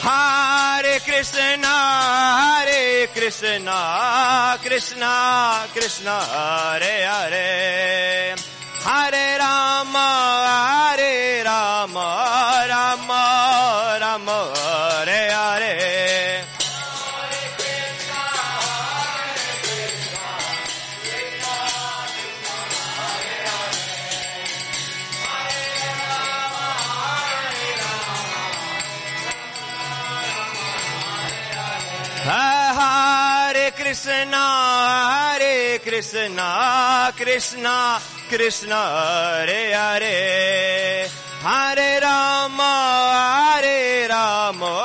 Hare Krishna, Krishna Krishna, Hare Hare, Hare Rama, Rama Rama, Hare Hare. Hare Krishna, Krishna Krishna, Hare Hare, Hare Rama, Rama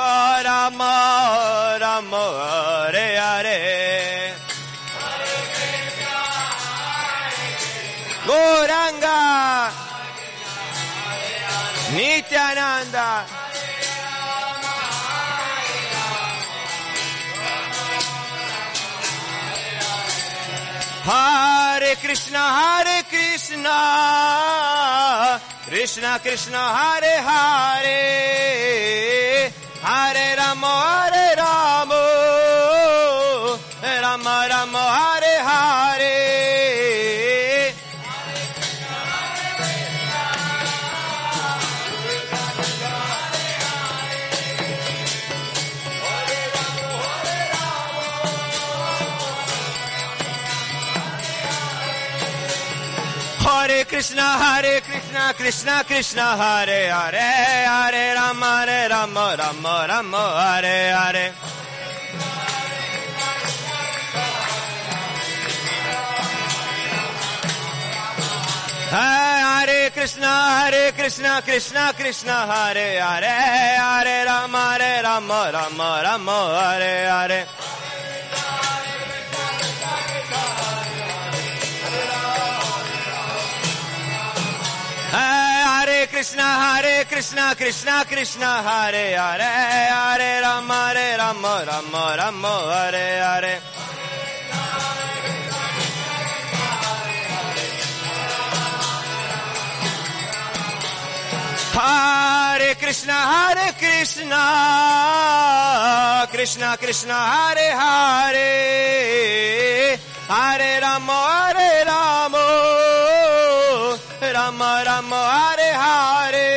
Rama, Hare Hare. Gauranga, Nityananda, Hare Krishna, Krishna Krishna, Hare Hare, Hare Rama, Rama Rama, Hare Hare. Hare Krishna, Krishna Krishna, Hare Hare, Hare Rama, Rama Rama, Hare Hare. Hare Krishna, Krishna Krishna, Hare Hare, Hare Rama, Rama Hare Hare. Hare Krishna, Krishna Krishna, Hare Hare, Hare Rama, Rama Hare Hare. Hare Krishna, Krishna Krishna, Hare Hare, Hare Rama, Rama Rama, Hare Hare.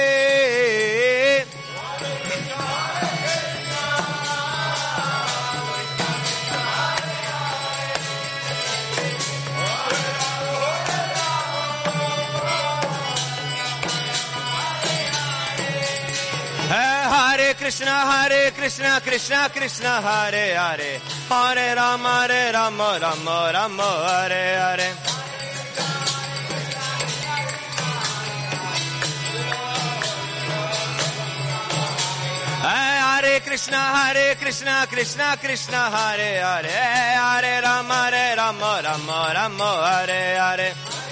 Hare Krishna, Krishna Krishna, Hare Hare, Hare Rama, Rama Hare Hare. Hare Krishna, Krishna Krishna, Hare Hare, Hare Rama, Rama Hare Hare.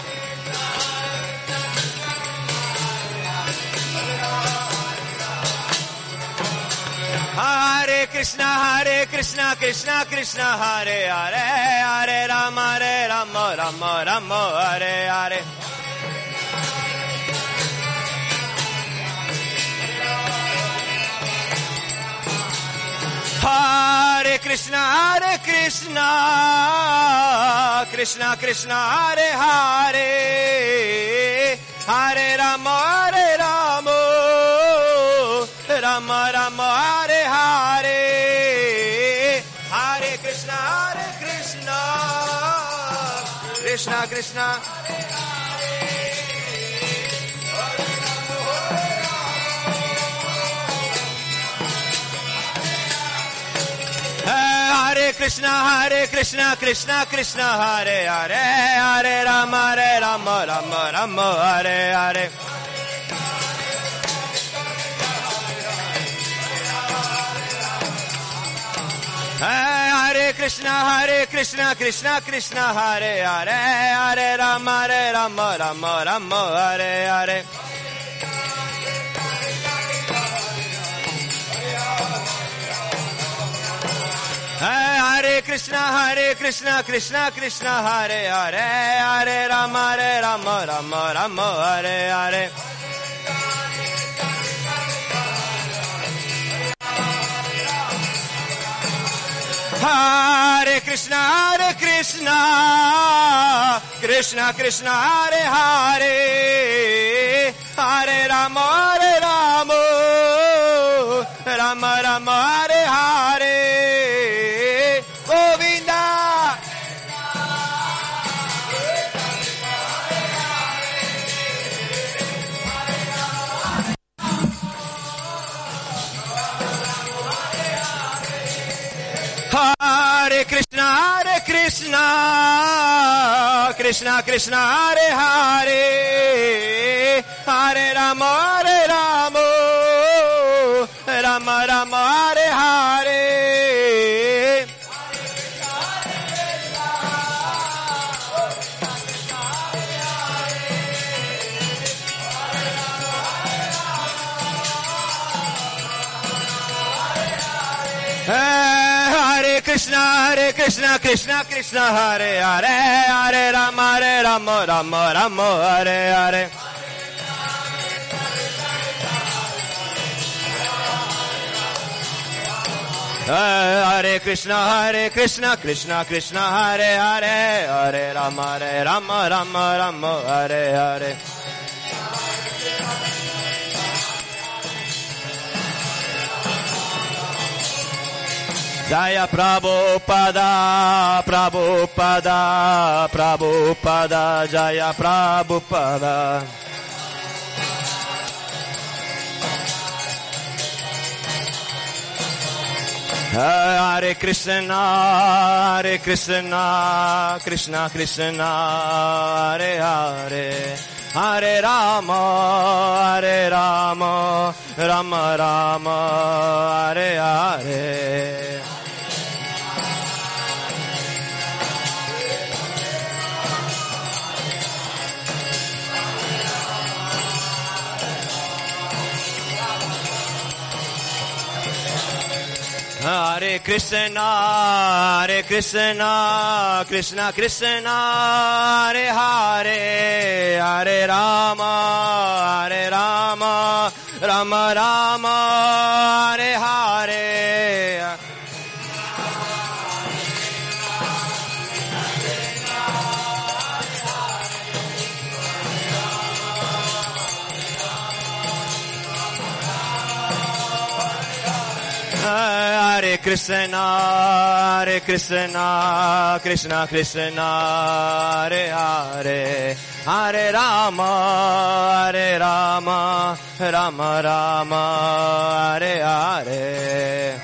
Hare Krishna, Krishna Krishna, Hare Hare, Hare Rama, Rama Hare Hare. Hare Krishna, Krishna Krishna, Hare Hare, Hare Rama, Rama Hare Hare. Hare Krishna, Krishna Krishna, Hare Krishna, Krishna Krishna, Hare Hare, Hare Rama, Rama Hare Hare. Hare Krishna, Krishna Krishna, Hare Hare, Hare Rama, Rama Hare Hare. Hare Krishna, Krishna Krishna, Hare Hare, Hare Rama, Rama Hare Hare. Hare Krishna, Krishna Krishna, Hare Hare, Hare Rama, Rama Rama, Hare Hare, Govinda. Hare Krishna, Krishna Krishna, Hare Hare, Hare Rama, Rama Rama, Hare Hare. Hare Krishna, Krishna Krishna, Hare Hare, Hare Rama, Rama Rama, Hare Hare. Hare Krishna, Krishna Krishna, Hare Hare, Hare Rama, Rama Rama, Hare Hare. Jaya Prabhupada, Prabhupada, Prabhupada, Jaya Prabhupada. Hare Krishna, Krishna Krishna, Hare Hare, Hare Rama, Rama Rama, Hare Hare. Hare Krishna, Krishna Krishna, Hare Hare, Hare Rama, Rama Rama, Hare Hare. Hare Krishna, Krishna Krishna, Hare Hare, Hare Rama, Rama Rama, Hare Hare.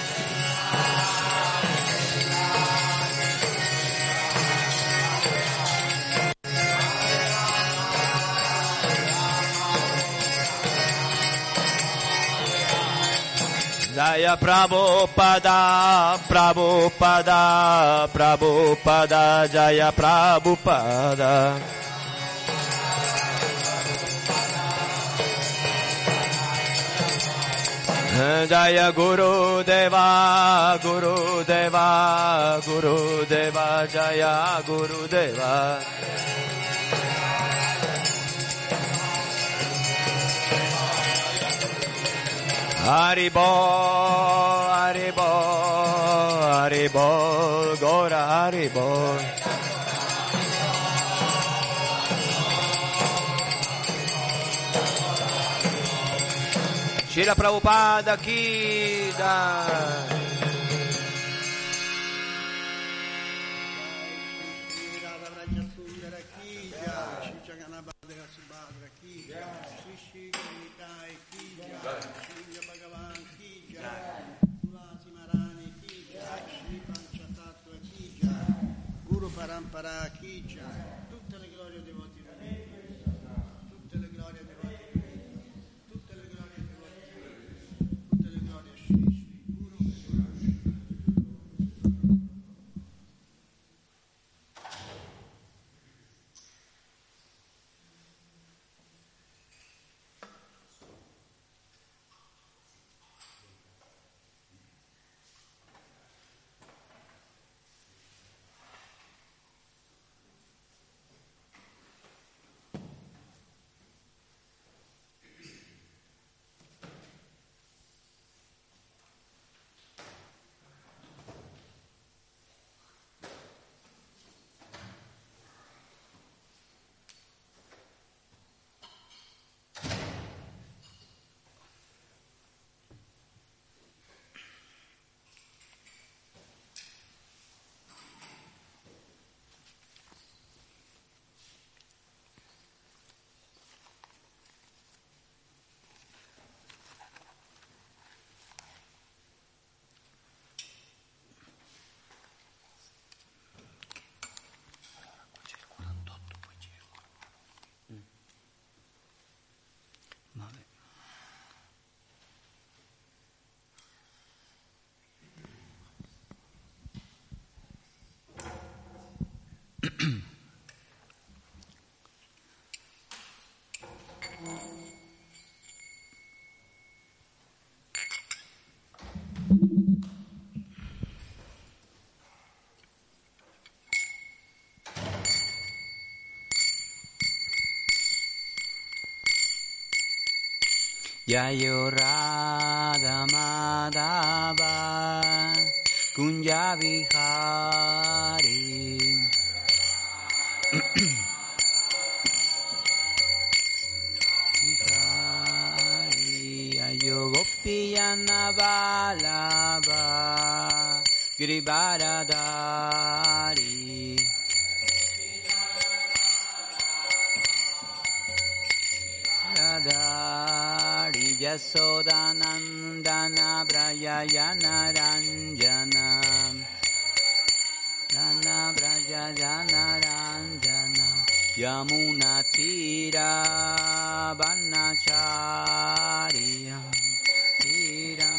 Jaya Prabhupada, Prabhupada, Prabhupada, Jaya Prabhupada. Jaya Guru Deva, Guru Deva, Guru Deva, Jaya Guru Deva. Haribo, Haribo, Haribo, Gora Haribo. Srila Prabhupada ki jai. Parampara chi jai, tutte le glorie dei devoti divini, tutte le glorie dei devoti divini, tutte le glorie dei devoti divini, tutte le glorie a Shri Shri Guru Vabbè. Yayo Radha Madhava Kunja Vihari Vihari Yayo Gopiyana Vallabha Girivaradari Radari Yasodanandana Brayayana Ranjana Jana Brayayana Ranjana Yamuna Tira Vanacharya Tiram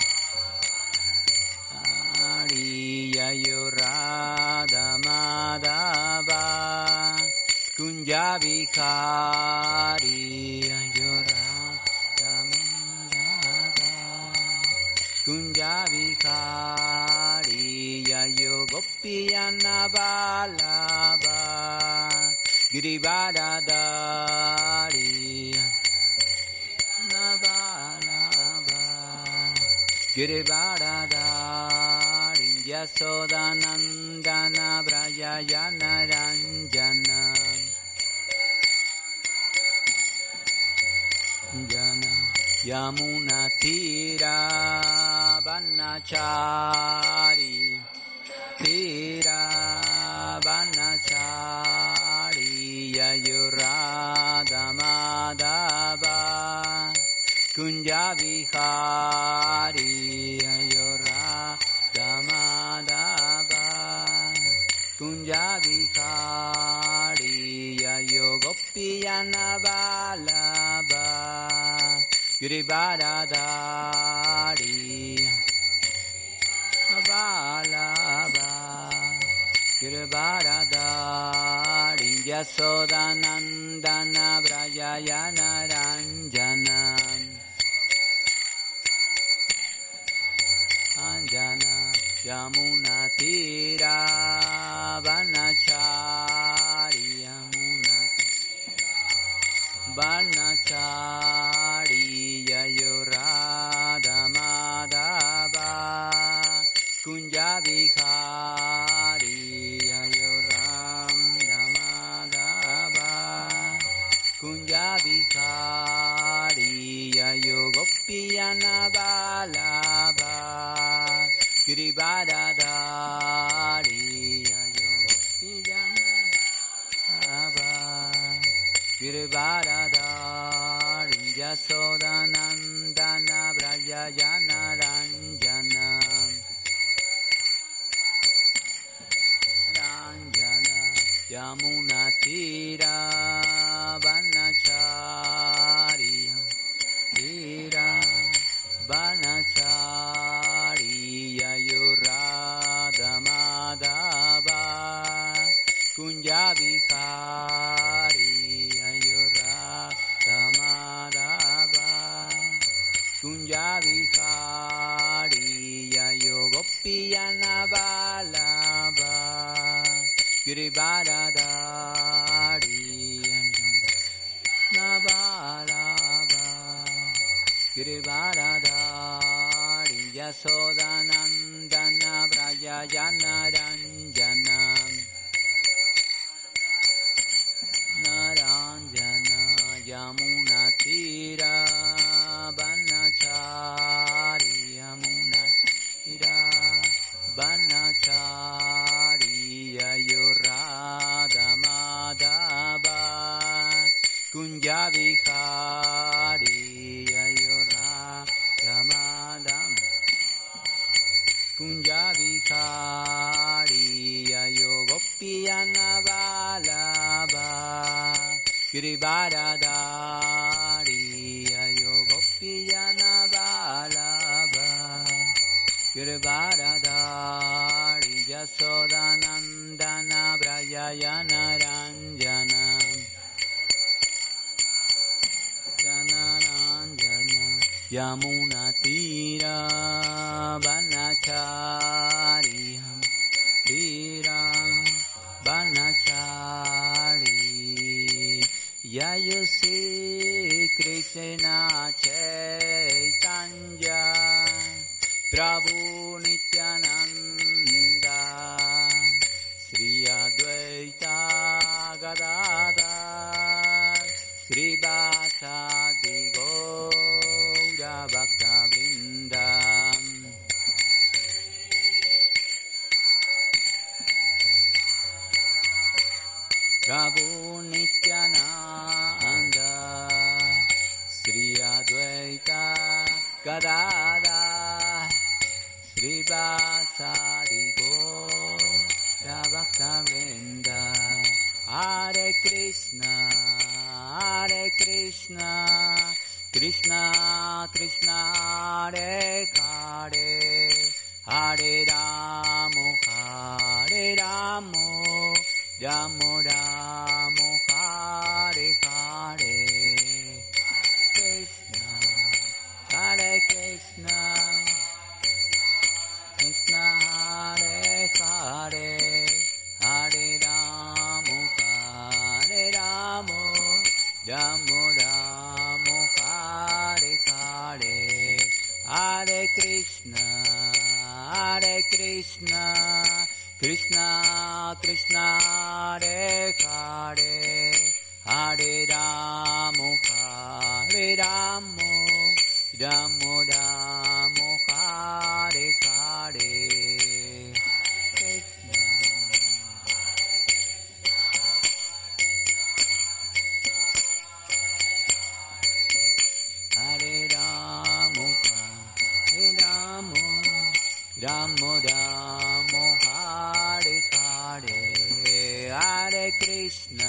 Ariyayo Radha Madhava Kunja Vihari Radha Madhava Kunja Vihari Yayo Gopiyana Vallabha Girivaradari Vallabha Girivaradari Yasodanandana Brayayana Ranjana Jana Yamuna Tira Vanachari Tira Vanachari Yayo Radha Madhava Kunja Vihari Yayo Radha Madhava Kunja Vihari Yayo Gopiyana Vallabha Girivaradari Vallabha Girivaradari Yasodanandana Brayayana Ranjana Anjana Yamuna Tira Vanachari Yamuna Vanachari Yayo Radha Madhava Kunja Vihari Yayo Radha Madhava Kunja Vihari Yayo Gopiyana Vallabha Girivaradari Yayo Gopiyana Vallabha Girivaradari Yasodanandana Brayayana Ranjana Ranjana Yamuna Tira Vanachari Tira Vanachari Yayo Radha Madhava Kunja Vihari Yayo Radha Madhava Kunja Vihari Yayo Gopiyana Vallabha Girivaradari Vallabha Girivaradari Yasodanandana Brayayana Ranjana Naranjana Yamuna Tira Vanachari Yamuna Tira Vanachari Yayo Radha Madhava Kunja Vihari Yayo Radha Madhava Kunja Vihari Yayo Gopiyana Vallabha Girivaradari Girvaradari Yasodanandana Brayayana Ranjana Janaranjana Yamuna Tira Vanachariyam Tiram Vanachari Yayosi Krishna Chaitanya Prabhu Nityananda Sri Advaita Gadadhar Sri Bhattadi Gaura Bhakta Vrinda Prabhu Nityananda Sri Advaita Gadadhar Sri Bhattadi Gaura Bhakta Vrinda Hare Krishna Krishna Krishna Hare Hare Hare Ramo Ramo Ramo Hare Hare Krishna Hare Krishna Krishna Hare Hare Hare Ramo Ramo Ramo Hare Hare Hare Krishna Krishna Krishna Hare Hare Hare Ramo Ramo Ramo Hare Hare Krishna Hare Ramo Ramo Ramo Hare Hare Hare Krishna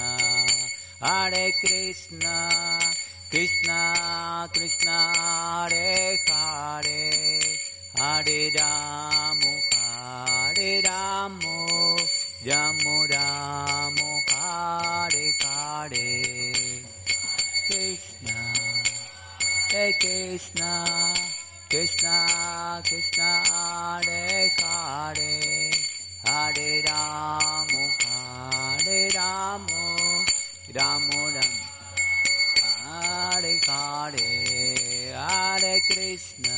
Krishna Krishna Hare Hare Hare Ramo Ramo Ramo Hare Hare Krishna Krishna Krishna Krishna Hare Hare Hare Ramo Ramo Ramo Hare Hare Hare Krishna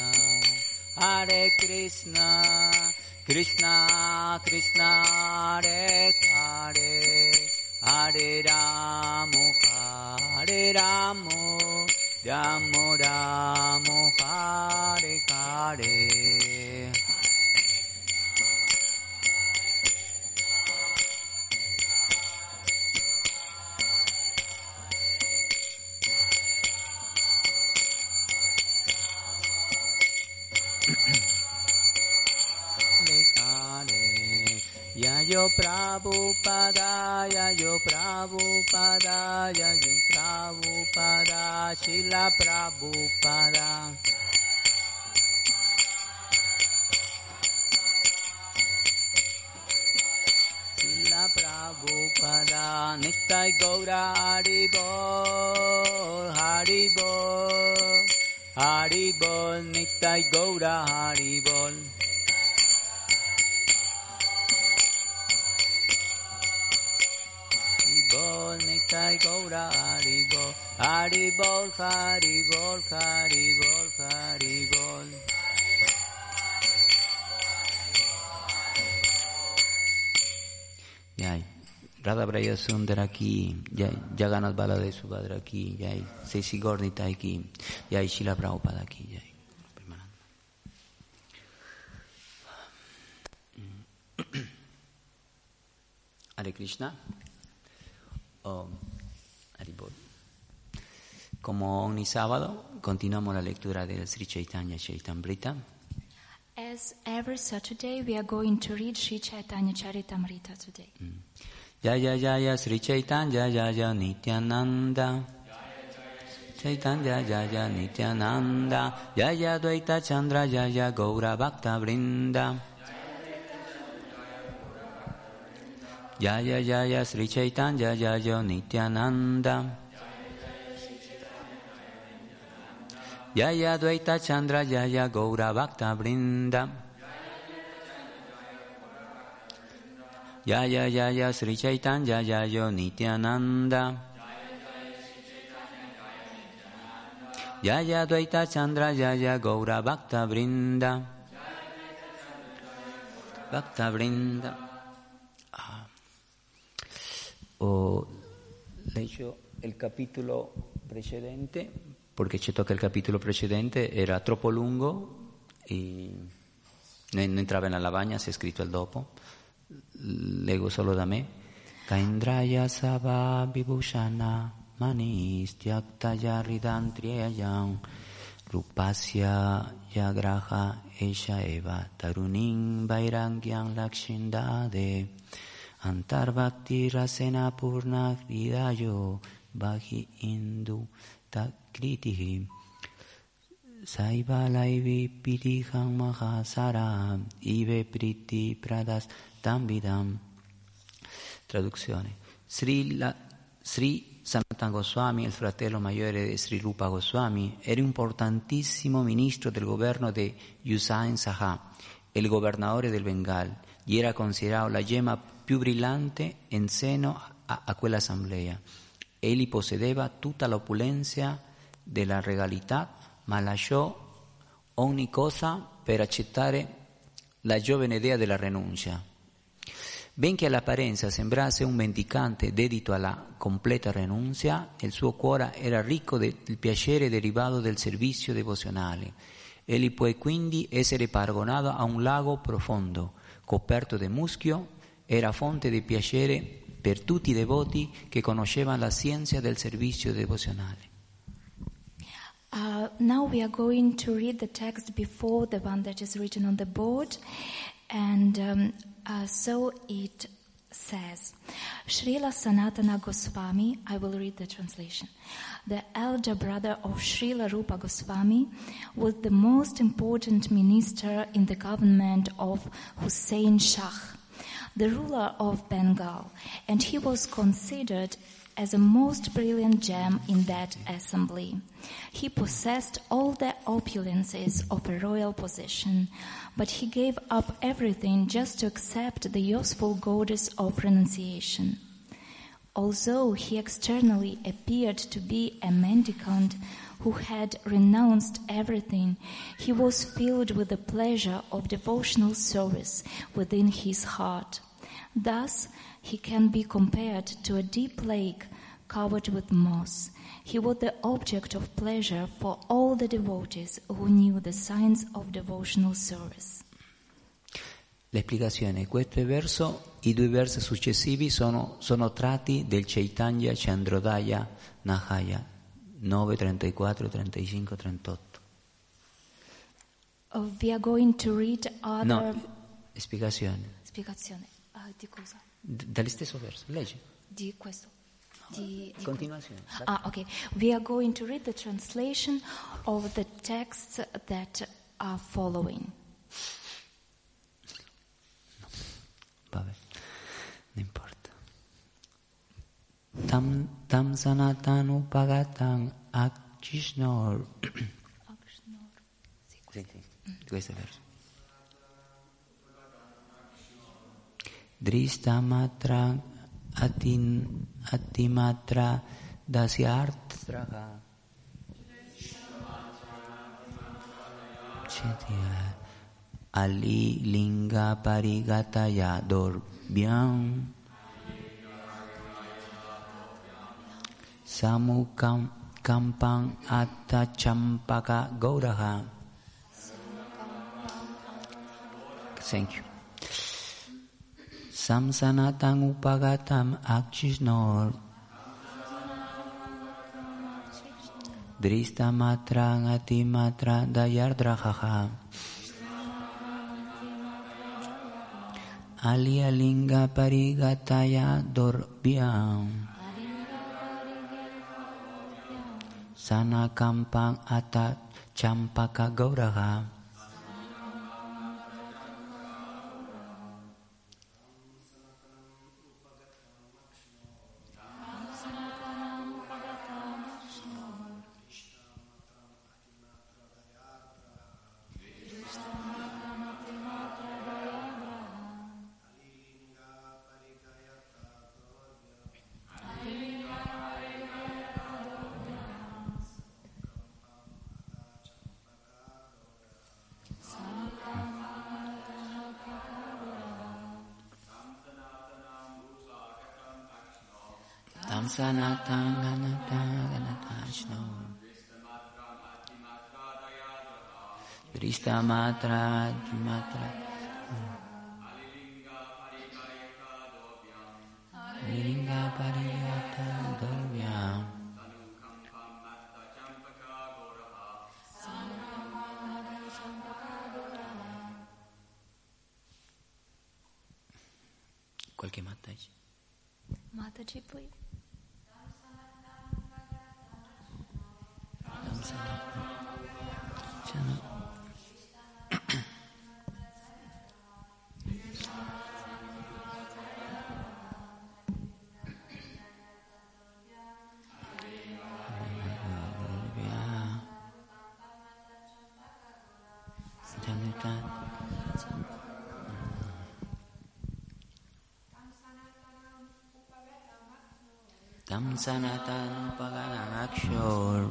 Krishna Krishna Hare Hare Hare Ramo Ramo Ramo Hare Hare Yayo Prabhupada, Yayo Prabhupada, Yayo Prabhupada, Shila Prabhupada. Shila Prabhupada, Nittai Gaura Haribol, Haribol, Haribol, Nittai Gaura Haribol. Nittai Gaura Haribol, Haribol, Haribol, Haribol, Haribol. Jai, Radha Braya Sundara ki, Jai, Jagannath Balade Subhadra ki, Jai, Sesi Gaur Nitai ki, Jai, Srila Prabhupada ki, Jai. Hare Krishna. Haribol. Como ogni sabato, continuamos la lectura del Sri Chaitanya Charitamrita. As every Saturday, we are going to read Sri Chaitanya Charitamrita today. Jaya Jaya Sri Chaitanya Jaya Nityananda. Chaitanya Jaya Nityananda Jaya Dvaita Chandra Jaya Gaura Bhakta Vrinda Jaya Jaya Sri Chaitanya Jaya Nityananda Jaya Dvaita Chandra Jaya Gaura Bhakta Vrinda Jaya Jaya Sri Chaitanya Jaya Nityananda Jaya Dvaita Chandra Jaya Gaura Bhakta Vrinda Bhakta Vrinda. Ho letto il capitolo precedente perché ci tocca il capitolo precedente, era troppo lungo e non entrava nella lavagna, si è scritto il dopo. Leggo solo da me. Kaindraya Sabha Vibhushana Manistyaktaya Ridantriyayam Rupasya Yagraha Esha Eva Taruning Vairangyam Lakshindade Antarbhakti Rasena Purna Hridayo Bhaji Indu Takritihi Saiva Laivi Pitiham Mahasara Ive Priti Pradas Tambidam. Traduzione. Sri Sanatana Goswami, il fratello maggiore di Sri Rupa Goswami, era un importantissimo ministro del governo di Usain Saha, il governatore del Bengal, e era considerato la gemma più brillante in seno a quell'assemblea. Egli possedeva tutta l'opulenza della regalità, ma lasciò ogni cosa per accettare la giovane idea della rinuncia. Benché all'apparenza sembrasse un mendicante dedito alla completa rinuncia, il suo cuore era ricco del piacere derivato del servizio devozionale. Egli può quindi essere paragonato a un lago profondo, coperto di muschio, era fonte di piacere per tutti i devoti che conoscevano la scienza del servizio devozionale. Now we are going to read the text before the one that is written on the board, and so it says, Srila Sanatana Goswami, I will read the translation, the elder brother of Srila Rupa Goswami, was the most important minister in the government of Hussain Shah, the ruler of Bengal, and he was considered as a most brilliant gem in that assembly. He possessed all the opulences of a royal position, but he gave up everything just to accept the useful goddess of renunciation. Although he externally appeared to be a mendicant who had renounced everything, he was filled with the pleasure of devotional service within his heart. Thus, he can be compared to a deep lake covered with moss. He was the object of pleasure for all the devotees who knew the science of devotional service. L'esplicazione. Questo verso, i due versi successivi sono tratti del Chaitanya Chandrodaya Nahaya 9, 34, 35, 38. We are going to read other... No, spiegazione. Spiegazione. Di cosa? Dallo stesso verso, leggi. Di questo. Di continuazione. Okay. We are going to read the translation of the texts that are following. Vabbè, non importa. Tam sanatanu pagatam akchishnor. Sì, questo è il verso. Dristamatra atimatra dasyartraha ali linga parigataya dorbhyam samukam kampang atta champaka gauraha. Thank you. Samsanatang upagatam akchisnor Dristamatra atimatra dayardrahaha Alialinga parigataya dorbhyam Sanakampang Atat Champaka Gauraha. Tam sanatang ganatashno Drista matra matra Alilinga pariyata dorvyam Qualche Mataji? Mataji, please. Tam sanatan paganakshor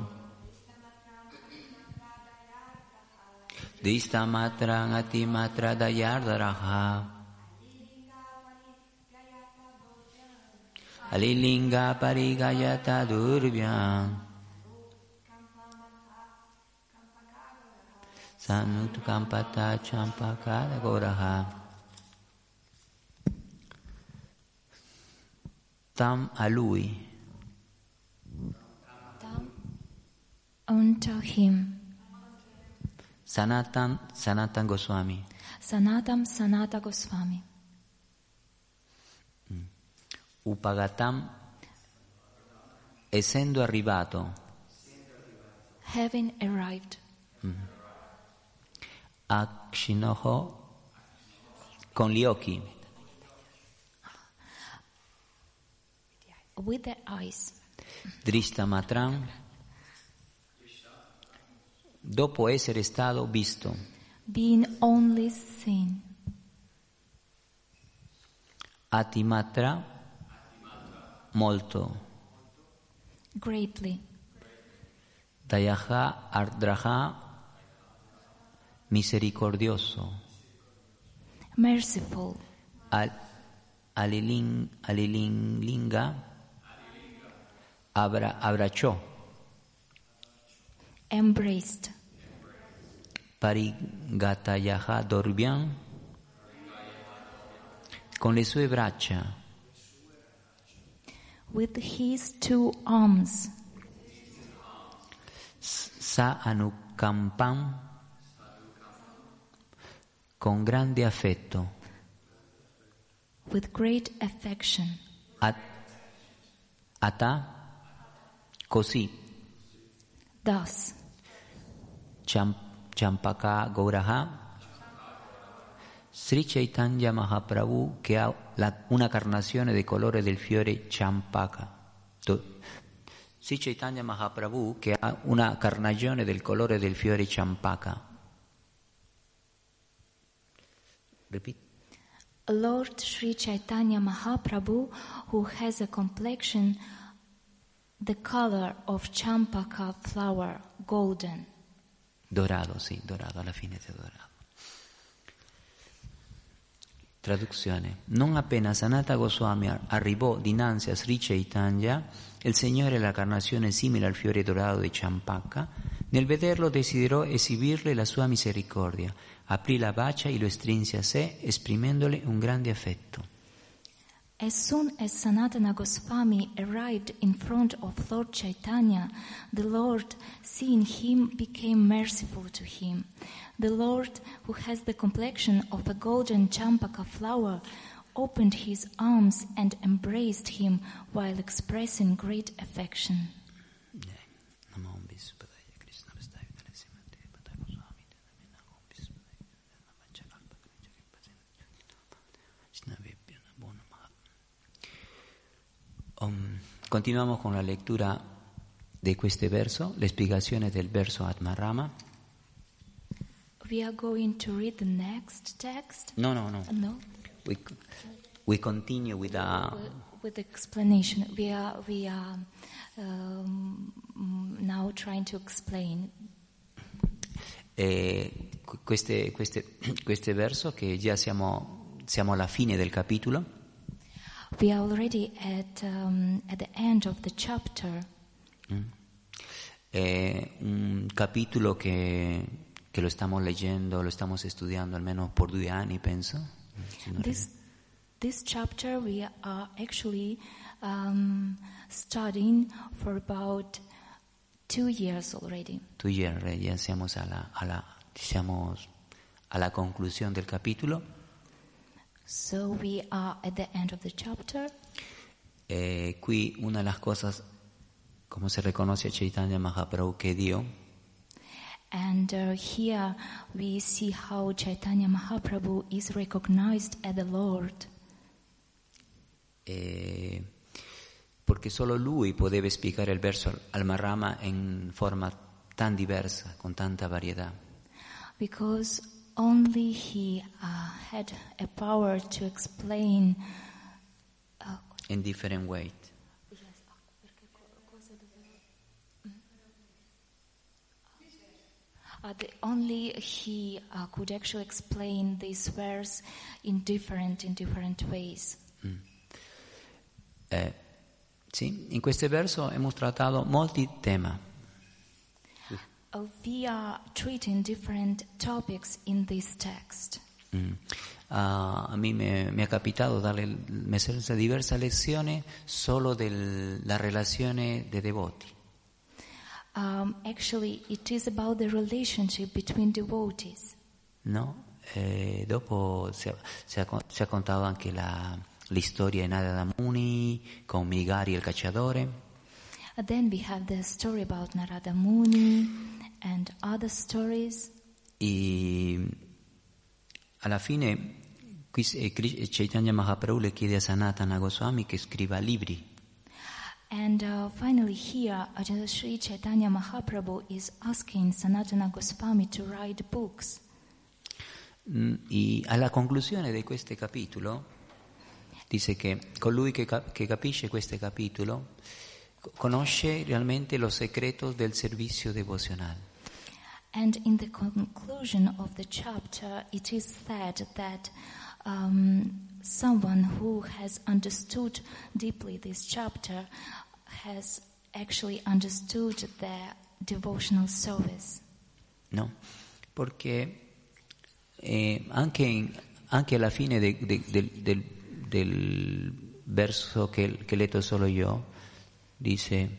Dista matra ngati matra dayardaraha Alilinga parigayata durvyam Sanut kampata champakada goraha Tam a lui Tam unto him Sanatan Goswami Sanata Goswami Upagatam essendo arrivato having arrived Akshinoho con gli occhi with the eyes Drishtamatram dopo essere stato visto being only seen Atimatra molto greatly Dayaha Ardraha misericordioso merciful Alilinga abbracciò embraced Parigatayaha Dorvyam con le sue braccia with his two arms Sa Anukampam con grande affetto with great affection Ata così thus Champaka Gauraha Sri Chaitanya Mahaprabhu che ha una carnazione del colore del fiore Champaka Sri Chaitanya Mahaprabhu che ha una carnagione del colore del fiore Champaka Repeat Lord Sri Chaitanya Mahaprabhu, who has a complexion the color of champaka flower, golden. Dorado, sì, dorado, alla fine è dorato. Traduzione. Non appena Sanata Goswami arrivò dinanzi a Sri Chaitanya, il Signore la carnazione simile al fiore dorato di Champaka, nel vederlo desiderò esibirle la sua misericordia, aprì la bacia e lo strinse a sé, esprimendole un grande affetto. As soon as Sanatana Goswami arrived in front of Lord Chaitanya, the Lord, seeing him, became merciful to him. The Lord, who has the complexion of a golden champaka flower, opened his arms and embraced him while expressing great affection. Namo Vispadaya Krishna Vastaya Dalasimate Patako Swami Namo Vispadaya Namachakalpa Krishna Bonama. Continuamos con la lectura de este verso, la explicación del verso Atmarama. We are going to read the next text. No. No. We continue with With explanation. We are now trying to explain. Questo verso che già siamo alla fine del capitolo. We are already at the end of the chapter. È un capitolo che lo stiamo leggendo, lo stiamo studiando almeno per 2 anni, penso. This chapter we are actually studying for about 2 years already. 2 years, ya siamo alla conclusione del capitolo. So we are at the end of the chapter. Qui una de las cosas, como se reconoce a Chaitanya Mahaprabhu, que Dio. And here we see how Chaitanya Mahaprabhu is recognized as the Lord. Perché solo lui poteva spiegare il verso al Marrama in forma tan diversa, con tanta varietà. Because only he had a power to explain in different ways. Only he could actually explain this verse in different ways. Sì, in questo verso abbiamo trattato molti temi. We are treating different topics in this text. A mí me ha capitato dare diverse lezioni solo della relazione dei devoti. Actually, it is about the relationship between devotees. No? Dopo si ha contato anche la storia di Narada Muni con Mrigari il cacciatore. Then we have the story about Narada Muni and other stories. E alla fine qui Chaitanya Mahaprabhu le chiede a Sanatana Goswami che scriva libri. And finally here, Sri Chaitanya Mahaprabhu is asking Sanatana Goswami to write books. E alla conclusione di questo capitolo dice che colui che capisce questo capitolo conosce realmente lo segreto del servizio devozionale. And in the conclusion of the chapter, it is said that someone who has understood deeply this chapter has actually understood the devotional service. No, perché anche alla fine del verso che ho letto solo io, dice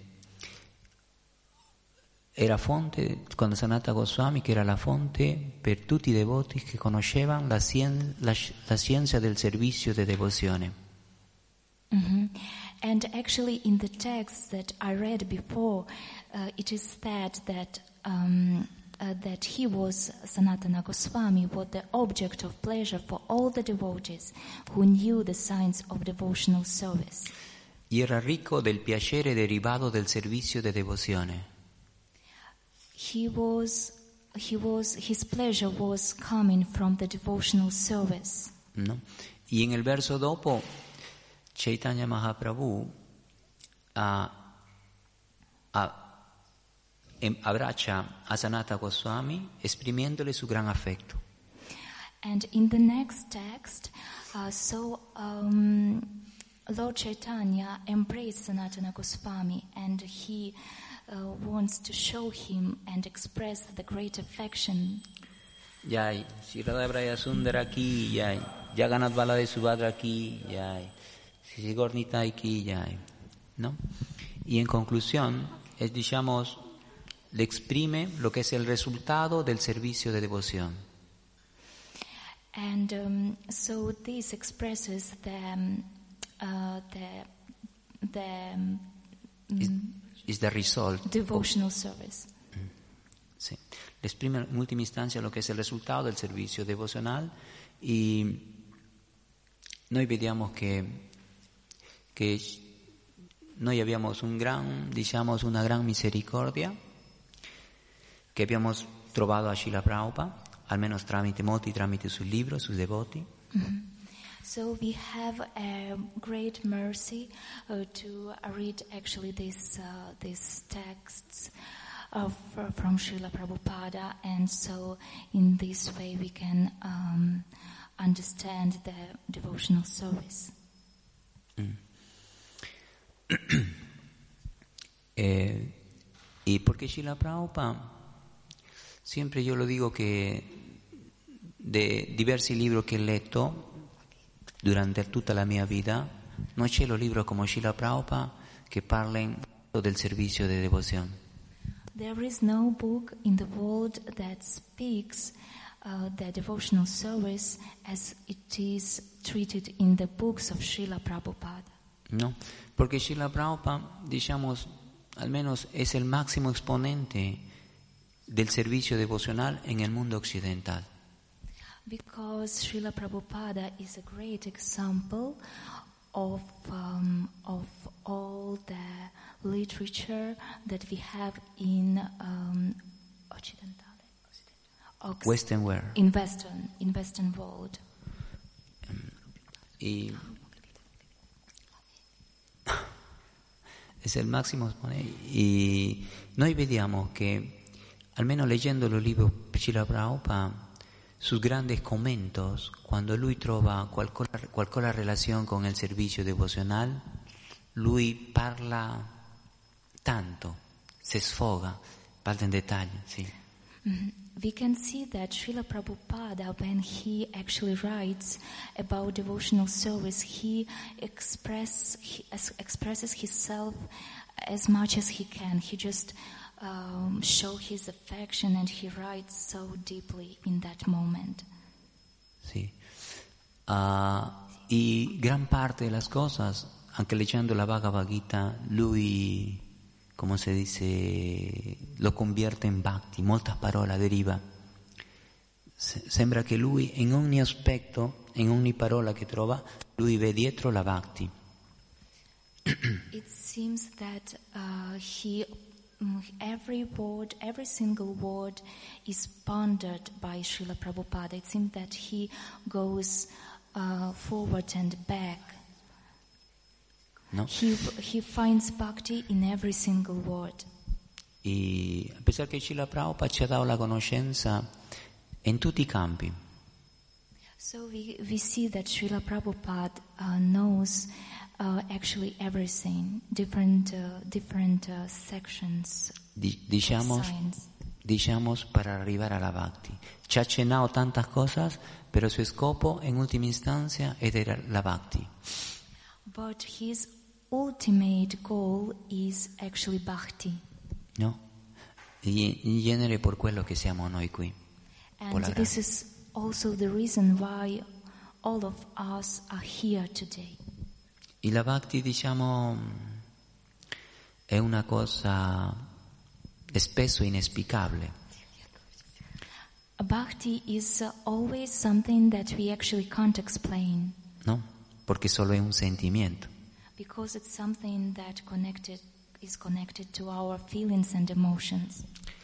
era fonte, quando Sanatana Goswami, che era la fonte per tutti i devoti che conoscevano la scienza del servizio di devozione. Mm-hmm. And actually in the text that I read before, it is said that that he was, Sanatana Goswami, was the object of pleasure for all the devotees who knew the science of devotional service. Y era ricco del piacere derivato del servizio di devozione. His pleasure was coming from the devotional service. No? Y en el verso dopo, Chaitanya Mahaprabhu abbraccia a Sanatana Goswami esprimiéndole su gran afecto. And in the next text, Lord Chaitanya embraced Sanatana Goswami, and he wants to show him and express the great affection. Jai, Sri Radha Braya Sundara ki jai, Jagannath Balade Subhadra ki jai, Sri Gornitai ki jai, ¿no? Y en conclusión, digamos, le exprime lo que es el resultado del servicio de devoción. And so this expresses is the result. devotional service. Sí. Exprime en última instancia lo che è il risultato del servizio devozionale e noi vediamo che noi abbiamo una gran misericordia che abbiamo trovato a Srila Prabhupada, almeno tramite sui libri, sui devoti. So we have a great mercy to read actually these texts from Srila Prabhupada, and so in this way we can understand the devotional service. Y porque Srila Prabhupada, siempre yo lo digo que de diversi libri che ho letto durante tutta la mia vita, non c'è un libro come Srila Prabhupada che parla del servizio di devozione. There is no book in the world that speaks the devotional service as it is treated in the books of Srila Prabhupada. No, porque Srila Prabhupada, almeno è il massimo esponente del servizio devozionale nel mondo occidentale. Because Srila Prabhupada is a great example of all the literature that we have in Western world. In Western world. Y es il massimo esponente. Y noi vediamo che, almeno leggendo il libro Srila Prabhupada, sus grandes comentos, cuando lui trova qualcosa relazione con il servizio devozionale, lui parla tanto, si sfoga, parla in dettaglio, sì. We can see that Srila Prabhupada, when he actually writes about devotional service, he expresses himself as much as he can. He just show his affection, and he writes so deeply in that moment. Sí. Y gran parte de las cosas, anche leggendo la Bhagavad Gita, lui, come si dice, lo convierte in bhakti, molte parole deriva. Sembra che lui in ogni aspetto, in ogni parola che trova, lui vede dietro la bhakti. It seems that every single word is pondered by Srila Prabhupada. It seems that he goes forward and back. No? He finds bhakti in every single word. E a pesar che Srila Prabhupada ci ha dato la conoscenza in tutti i campi. So we see that Srila Prabhupada knows actually everything, different sections of science. Diciamo per arrivare alla bhakti. Ci ha accennato tantas cosas, pero su scopo in ultima instancia era la bhakti. But his ultimate goal is actually bhakti. No? In genere per quello che siamo noi qui. And this is also the reason why all of us are here today. E la bhakti, diciamo, è una cosa spesso inesplicabile. Bhakti is always something that we actually can't explain. No? Perché solo è un sentimento. Because it's something that is connected to our feelings and emotions.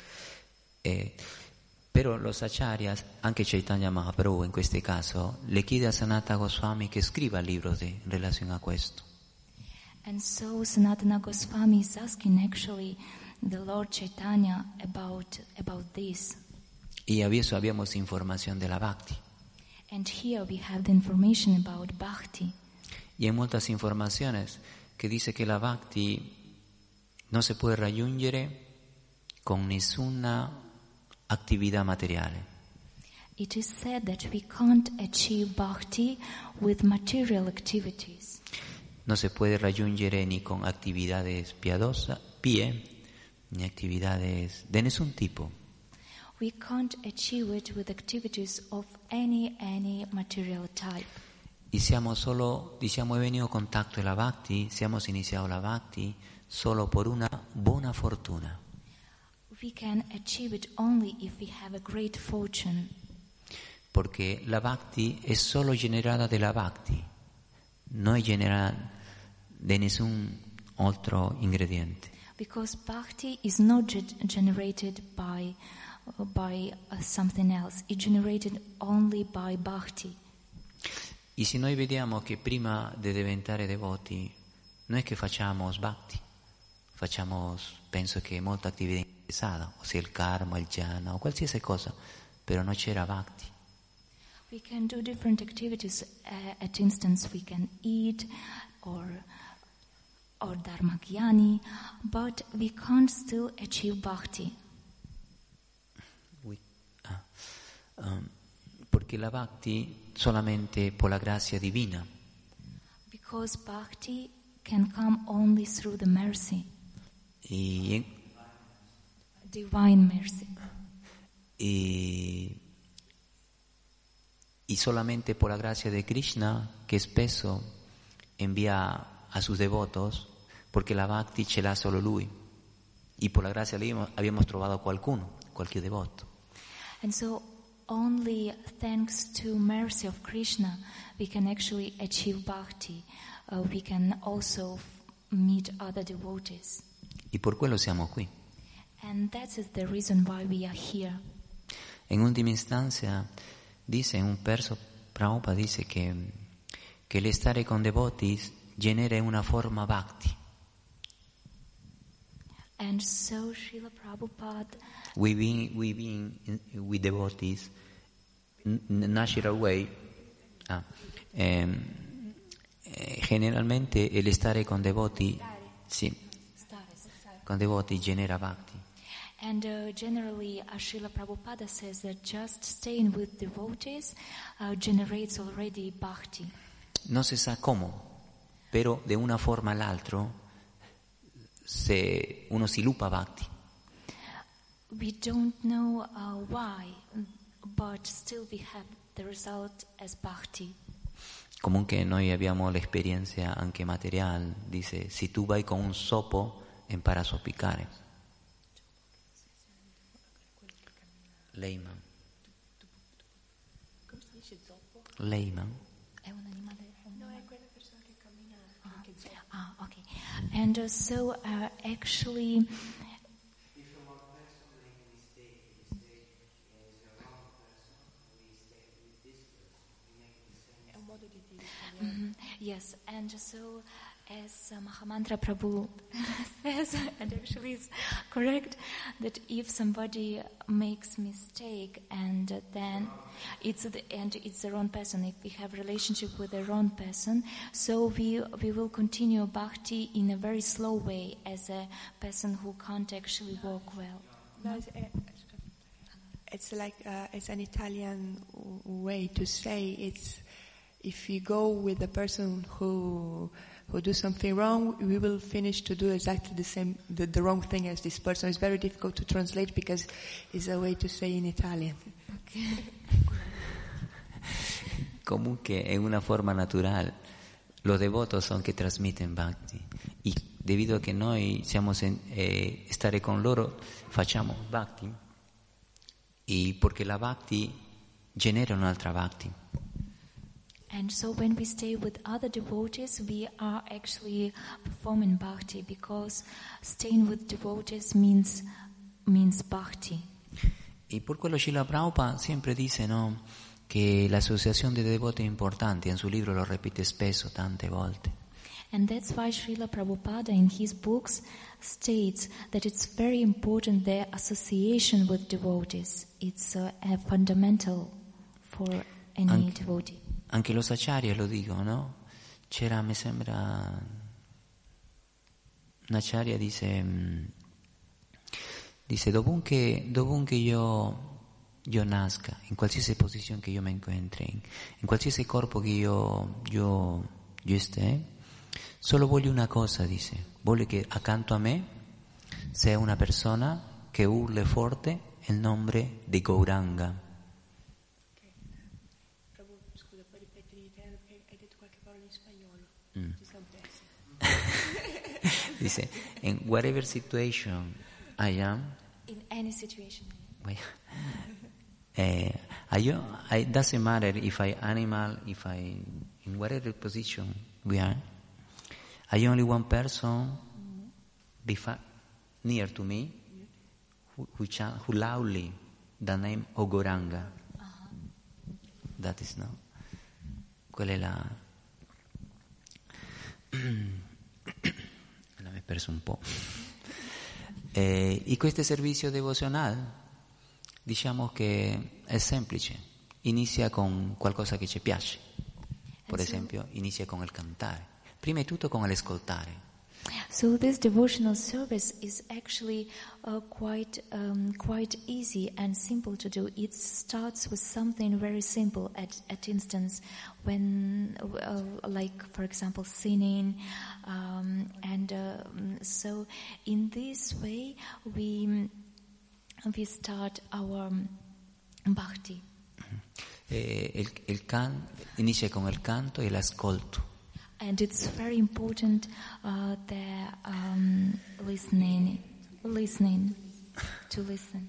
Però los acharyas, anche Chaitanya Mahaprabhu in questo caso, le chiede a Sanatana Goswami che scriva libros in relazione a questo. And so Sanatana Goswami is asking actually the Lord Chaitanya about this. Y adesso abbiamo informazione della bhakti. And here we have the information about bhakti. Y hay muchas informaciones que dice que la bhakti no se puede raggiungere con nessuna attività materiale. It is said that we can't achieve bhakti with material activities. No se puede raggiungere ni con actividades piadosas, ni actividades de ningún tipo. We can't achieve it with activities of any material type. Y siamo solo, diciamo, è venuto contatto alla bhakti, siamo iniziato la bhakti solo per una buona fortuna. We can achieve it only if we have a great fortune. Porque la bhakti es solo generada de la bhakti, no es generada de ningún otro ingrediente. Because bhakti is not generated by something else. It's generated only by bhakti. E se noi vediamo che prima di diventare devoti non è che facciamo bhakti, facciamo, penso che molta attività interessata, ossia il karma, il jhana o qualsiasi cosa, però non c'era bhakti. We can do different activities. At instance, we can eat or dharma gyani, but we can't still achieve bhakti. Perché la bhakti solamente por la grazia divina. Because bhakti can come only through the mercy, divine mercy. Y solamente por la gracia de Krishna, que spesso envía a sus devotos, porque la bhakti ce l'ha solo lui. Y por la gracia de lui habíamos trovato qualcuno, qualche devoto. And so only thanks to mercy of Krishna we can actually achieve bhakti. We can also meet other devotees. Y por quello siamo qui. And that is the reason why we are here. En última instancia, dice un verso, Prabhupada dice que el stare con devotis genera una forma bhakti. And so Srila Prabhupada, We being with devotees, natural way, generalmente el stare con devoti, sì, con devoti genera bhakti. and generally Srila Prabhupada says that just staying with devotees generates already bhakti. No se sa cómo, pero de una forma all'altra uno sviluppa bhakti. We don't know why, but still we have the result as bhakti. Comunque noi abbiamo l'esperienza anche materiale, dice, se tu vai con un sopo impara a zoppicare. Layman. Come si dice zoppo? Layman. È un animale? No, è quella persona che cammina che zoppo. Okay. And so actually, È un modo di dire. yes, and so as Mahamantra Prabhu says, and actually it's correct, that if somebody makes mistake and then it's the wrong person, if we have relationship with the wrong person, so we will continue bhakti in a very slow way as a person who can't actually walk well. No, it's like it's an Italian way to say it's if you go with the person who do something wrong, we will finish to do exactly the same, the wrong thing as this person. It's very difficult to translate because it's a way to say in Italian. Okay. Comunque è una forma natural. Los devotos son que transmiten bhakti. Y debido a que noi siamo stare con loro, facciamo bhakti. Y porque la bhakti genera un'altra bhakti. And so when we stay with other devotees, we are actually performing bhakti, because staying with devotees means bhakti. Y por quello Srila Prabhupada sempre dice, no, che l'associazione dei devoti è importante, in suo libro lo ripete spesso, tante volte. And that's why Srila Prabhupada in his books states that it's very important the association with devotees. It's a fundamental for any devotee. Anche los acharya lo dicono, no? C'era, mi sembra, un acharya dice dovunque io nasca, in qualsiasi posizione che io mi incontri, in qualsiasi corpo che io stia, solo voglio una cosa, dice, voglio che accanto a me sia una persona che urli forte il nome di Gauranga. Prabhu, scusa, puoi ripetere in italiano perché hai detto qualche parola in spagnolo? Ci siamo persi. Dice, in whatever situation I am, In any situation. wait, it doesn't matter if I animal, if I, in whatever position we are, I only one person near to me who loudly the name Ogoranga. That is no. Quella è la... mi he perso un po'. Y questo servizio devozionale, diciamo che è semplice, inizia con qualcosa che ci piace, per esempio inizia con il cantare, prima di tutto con l'ascoltare. So this devotional service is actually quite easy and simple to do. It starts with something very simple. At instance, when like for example singing, so in this way we start our bhakti. Inizia con il canto e l'ascolto. And it's very important the listening, to listen,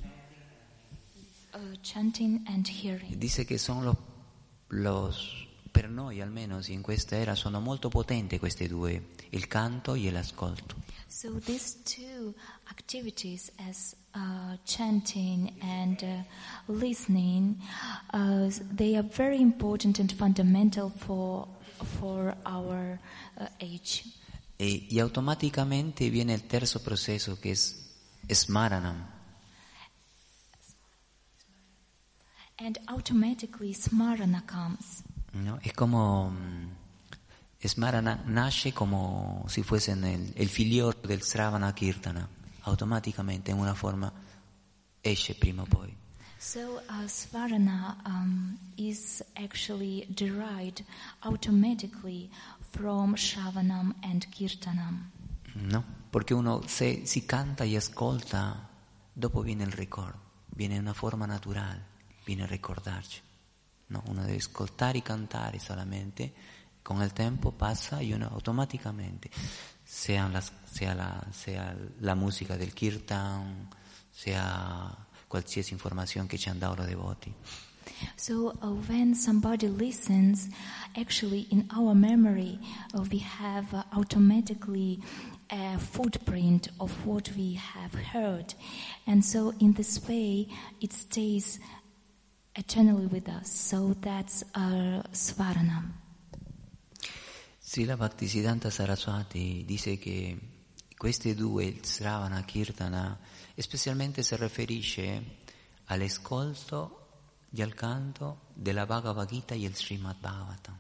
chanting and hearing. Dice che sono per noi almeno in questa era sono molto potenti queste due, il canto e l'ascolto. So these two activities as chanting and listening, they are very important and fundamental for our age. E automaticamente viene il terzo processo che è Smaranam. And automatically Smarana comes. No? È come Smarana nasce come se fosse il figliolo del Sravana Kirtana, automaticamente in una forma esce prima o poi. So Svarana is actually derived automatically from Shravanam and Kirtanam. No, perché uno se si canta e ascolta, dopo viene il ricordo, viene una forma naturale, viene a ricordarci. No, uno deve ascoltare e cantare solamente, con il tempo passa e uno automaticamente, sia la musica del Kirtan, sia qualsiasi informazione che ci hanno dato i devoti. So when somebody listens, actually in our memory we have automatically a footprint of what we have heard, and so in this way it stays eternally with us. So that's our Svaranam. Srila Bhaktisiddhanta Saraswati dice che queste due, il Sravana Kirtana, specialmente si riferisce all'ascolto e al canto della Bhagavad Gita e il Srimad Bhagavatam.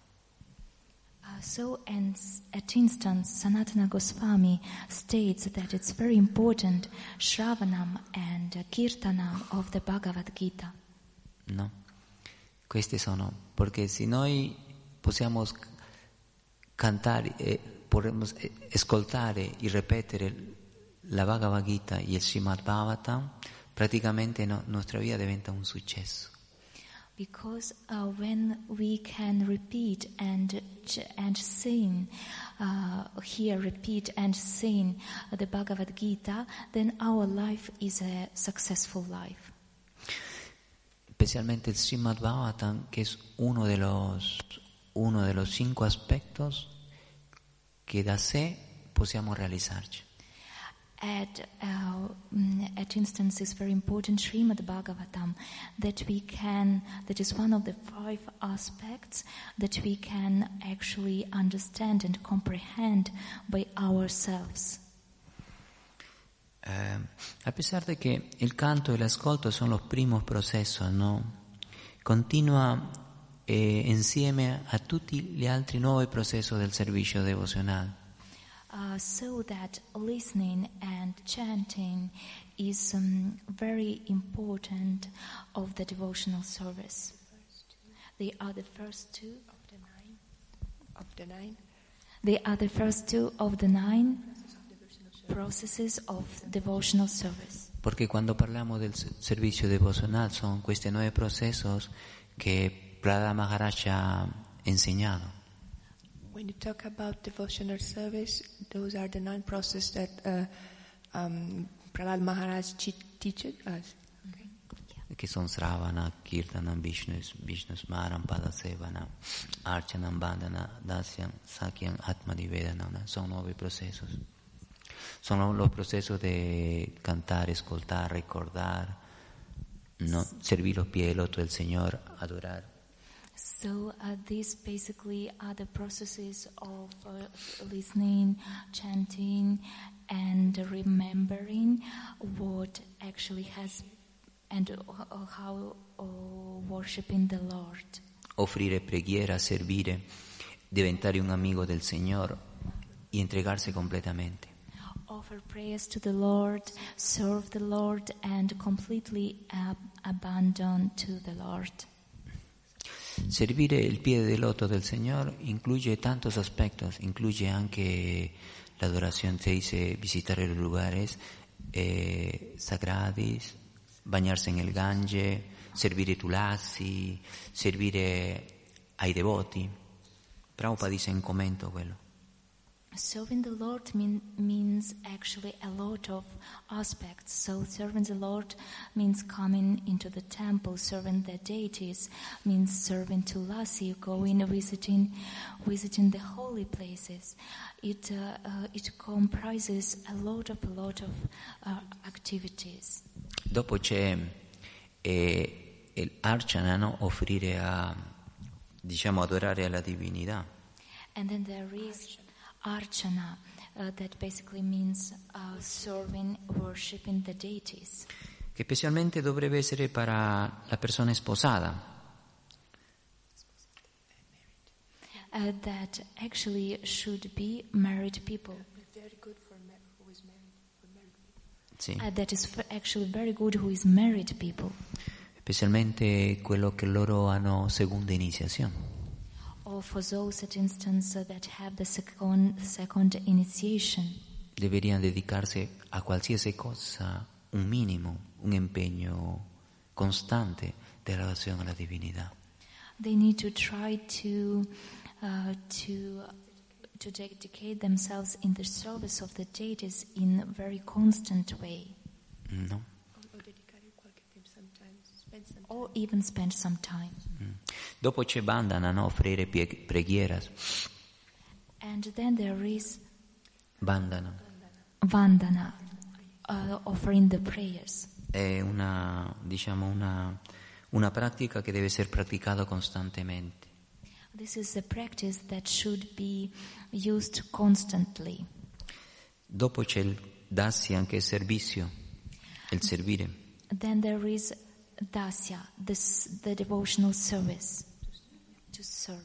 At instance, Sanatana Goswami states that it's very important Shravanam and Kirtanam of the Bhagavad Gita. No, questi sono, perché se noi possiamo cantare, possiamo ascoltare e ripetere la Bhagavad Gita e il Srimad Bhagavatam, praticamente nostra vita diventa un successo. Because when we can repeat and sing, repeat and sing the Bhagavad Gita, then our life is a successful life. Especialmente el Srimad Bhagavatam, que es uno de los 5 aspectos que da sé possiamo realizzarci. At instance, is very important Srimad Bhagavatam that is one of the 5 aspects that we can actually understand and comprehend by ourselves. A pesar de que el canto y el ascolto son los primos procesos, ¿no? Continua insieme a tutti gli altri 9 processi del servizio devozionale. So that listening and chanting is very important of the devotional service. They are the first 2 of the nine. They are the first 2 of the 9 processes of devotional service. Porque cuando parliamo del servizio devozionale sono questi 9 processi che Prahlada Maharaj ha insegnato. When you talk about devotional service, those are the 9 processes that Prahlad Maharaj teaches us. Che sono Sravana, Kirtana, Vishnu Smaran, Padasevana, Archanam, Bandhana, Dasyam, Sakyam, Atmanivedana. Son 9 procesos. Son los procesos de cantar, escoltar, recordar, ¿no? Servir los pies del otro del Señor, adorar. So these basically are the processes of listening, chanting, and remembering what actually has and how worshiping the Lord. Offrire preghiera, servire, diventare un amigo del Señor y entregarse completamente. Offer prayers to the Lord, serve the Lord, and completely abandon to the Lord. Servire il piede del loto del Señor incluye tantos aspectos, incluye anche la adoración, se dice visitar los lugares sagrados, bañarse en el Gange, servire tulasi, servire ai devoti. Prabhupada dice in commento quello. Serving the Lord means actually a lot of aspects. So serving the Lord means coming into the temple. Serving the deities means serving tulasi, going visiting the holy places. It comprises a lot of activities. Dopo c'è l'archana, no? Offrire adorare alla divinità. And then there is Archana, that basically means serving, worshiping the deities. Che specialmente dovrebbe essere per la persona sposata. That actually should be married people. Very good for who is married. Sì. That is actually very good who is married people. Specialmente quello che loro hanno seconda iniziazione. Or for those, at instance, that have the second initiation. Deberían dedicarse a qualsiasi cosa, un minimo, un impegno costante di relazione alla divinità. They need to try to dedicate themselves in the service of the deities in a very constant way. No? Or even spend some time. Dopo c'è bandhana, no? Offrire preghiera. And then there is Bandhana. Vandana, offering the prayers. È una pratica che deve essere praticata costantemente. This is a practice that should be used constantly. Dopo c'è il dasya, anche il servizio, il servire. Then there is Dasya, the devotional service, to serve.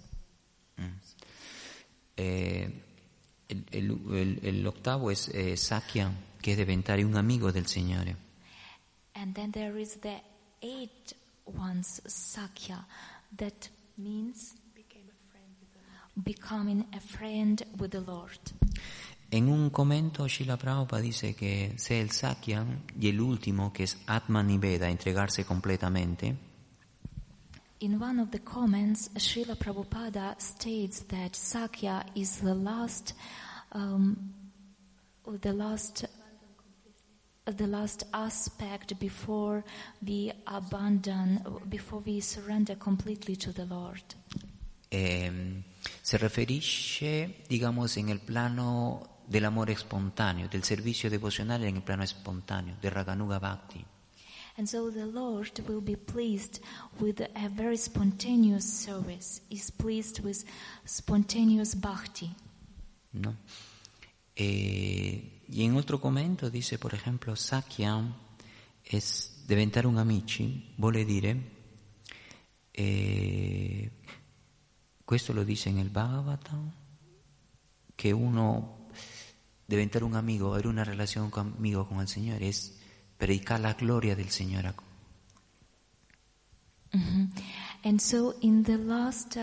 L'ottavo è Sakya, che è diventare un amico del Signore. And then there is the 8th one's Sakya, that means becoming a friend with the Lord. In un commento Srila Prabhupada dice che se il Sakya è l'ultimo, che è Atmaniveda, entregarsi completamente. In one of the comments, Srila Prabhupada states that Sakya is the last aspect before we surrender completely to the Lord. Si riferisce, digamos, nel plano dell'amore spontaneo, del servizio devozionale nel plano spontaneo, del Raganuga Bhakti. And so the Lord will be pleased with a very spontaneous service. He's pleased with spontaneous bhakti. ¿No? Y en otro commento dice, por ejemplo, Sakya es diventare un amici, vuole dire, questo lo dice nel Bhagavatam, che uno diventare un amigo, avere una relazione amigo con il Signore, es predicar la gloria del Signore. Mm-hmm. And so in the last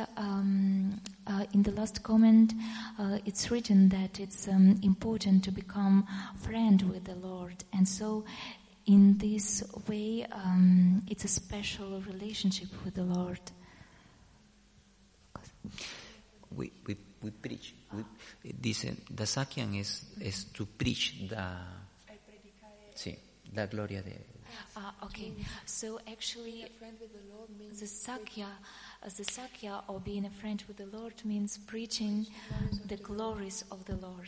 comment, it's written that it's important to become friend with the Lord. And so in this way, it's a special relationship with the Lord. we preach. Dice, da Sakyan es to preach la gloria de. Okay. So actually, the Sakya or being a friend with the Lord means preaching the glories of the Lord.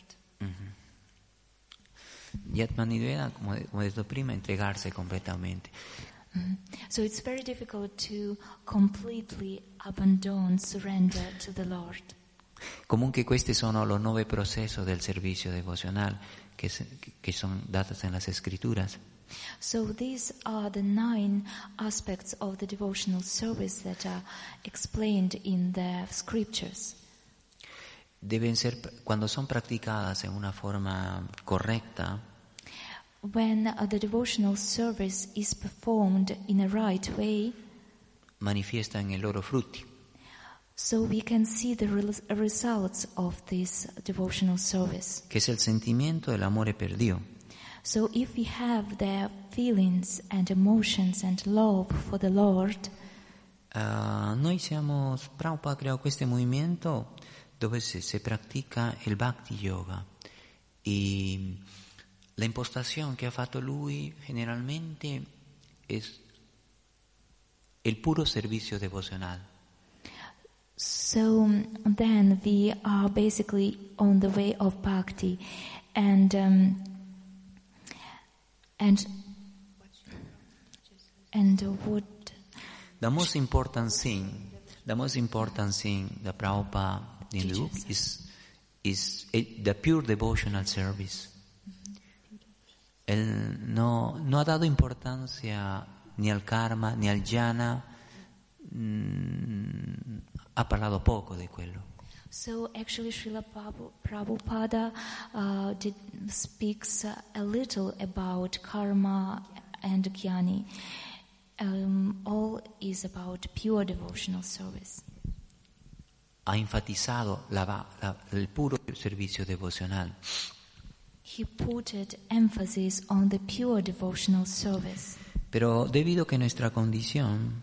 Y Atmaniveda, como he detto prima, entregarse completamente. So it's very difficult to completely abandon, surrender to the Lord. Comunque questi sono los 9 procesos del servicio devocional que son datos en las Escrituras. So these are the 9 aspects of the devotional service that are explained in the scriptures. Deben ser, cuando son practicadas en una forma correcta, when the devotional service is performed in a right way, manifiestan i loro frutti. So we can see the results of this devotional service. Che es el sentimiento del amore per Dio. So if we have the feelings and emotions and love for the Lord, Prabhupada creò questo movimento dove se practica il Bhakti Yoga y la impostación que ha fatto lui generalmente es el puro servicio devocional. So then we are basically on the way of bhakti, and what the most important thing that Prabhupada in the book is the pure devotional service. Él no ha dado importancia ni al karma ni al jhana, ha parlato poco di quello. So actually Srila Prabhupada speaks a little about karma and jnani. All is about pure devotional service. Ha enfatizado el puro servicio devocional. He put emphasis on the pure devotional service. Pero debido a que nuestra condición,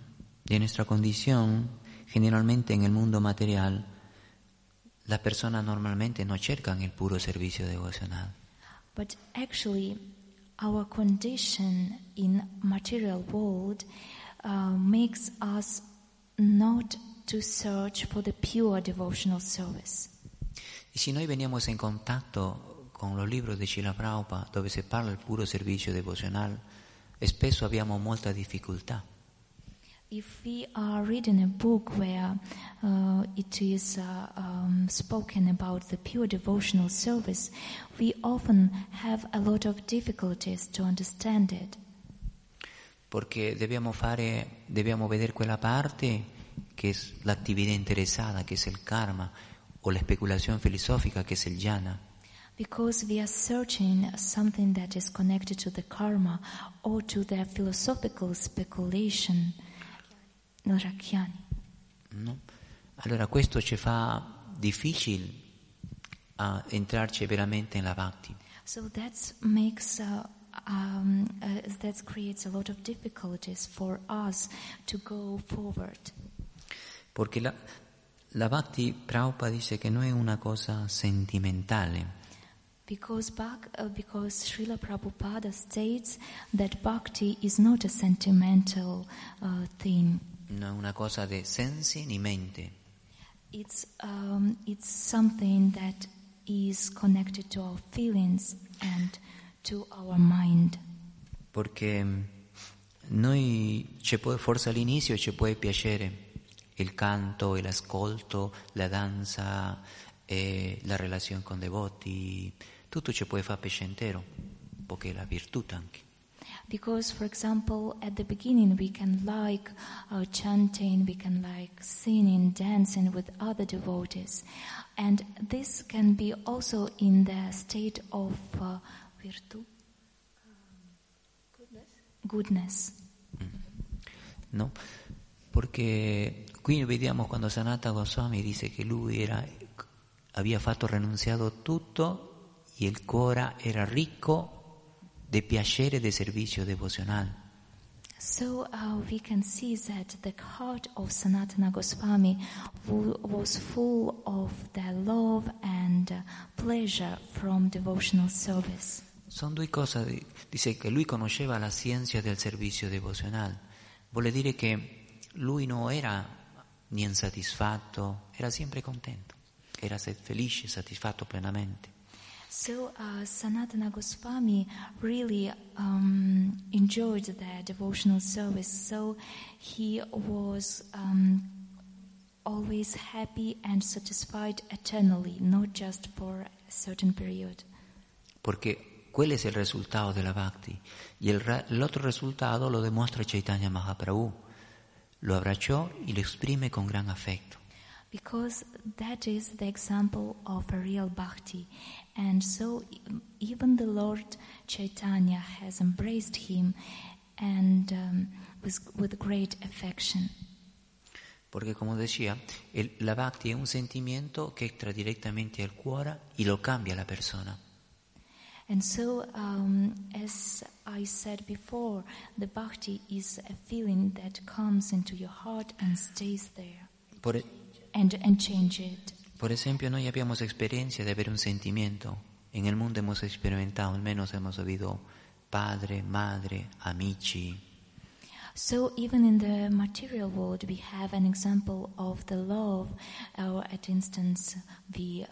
generalmente en el mundo material, las personas normalmente no cercan el puro servicio devocional. But actually, our condition in material world makes us not to search for the pure devotional service. Y si noi veniamo in contatto con los libros de Srila Prabhupada, dove si parla del puro servicio devocional, spesso abbiamo molta difficoltà. If we are reading a book where it is spoken about the pure devotional service, we often have a lot of difficulties to understand it. Perché dobbiamo vedere quella parte che è l'attività interessata, che è il karma, o la speculazione filosofica, che è il jhana. Because we are searching something that is connected to the karma or to the philosophical speculation. No. Allora questo ci fa difficile a entrarci veramente nella bhakti. So that creates a lot of difficulties for us to go forward. Perché la bhakti, Prabhupada dice che non è una cosa sentimentale. Because Srila Prabhupada states that bhakti is not a sentimental thing. No è una cosa di sensi ni mente. It's something that is connected to our feelings and to our mind. Perché forse all'inizio ci può piacere il canto, l'ascolto, la danza, la relazione con devoti, tutto ci può fare piacere, perché è la virtù anche. Because, for example, at the beginning we can like chanting, we can like singing, dancing with other devotees. And this can be also in the state of virtù? Goodness. No, perché qui vediamo quando Sanatana Goswami dice che lui aveva fatto renunciato tutto e il cuore era ricco de piacere de servicio devocional. So we can see that the heart of Sanatana Goswami was full of the love and pleasure from devotional service. Sono due cose, dice che lui conosceva la scienza del servizio devozionale, vuol dire che lui non era niente insoddisfatto, era sempre contento, era felice, soddisfatto plenamente. So Sanatana Goswami really enjoyed the devotional service, so he was always happy and satisfied eternally, not just for a certain period. Porque quello es el resultado de la Bhakti. Y el otro resultado lo demuestra Chaitanya Mahaprabhu. Lo abbracciò y lo exprime con gran afecto. Because that is the example of a real bhakti. And so even the Lord Chaitanya has embraced him and with great affection. Porque como decía, la Bhakti es un sentimiento que entra directamente al cuore y lo cambia la persona. And so, as I said before, the bhakti is a feeling that comes into your heart and stays there. And change it. Por esempio, noi abbiamo esperienza di avere un sentimento. En el mundo hemos experimentado, al menos hemos oído padre, madre, amici. So even in the material world, we have an example of the love. At instance, we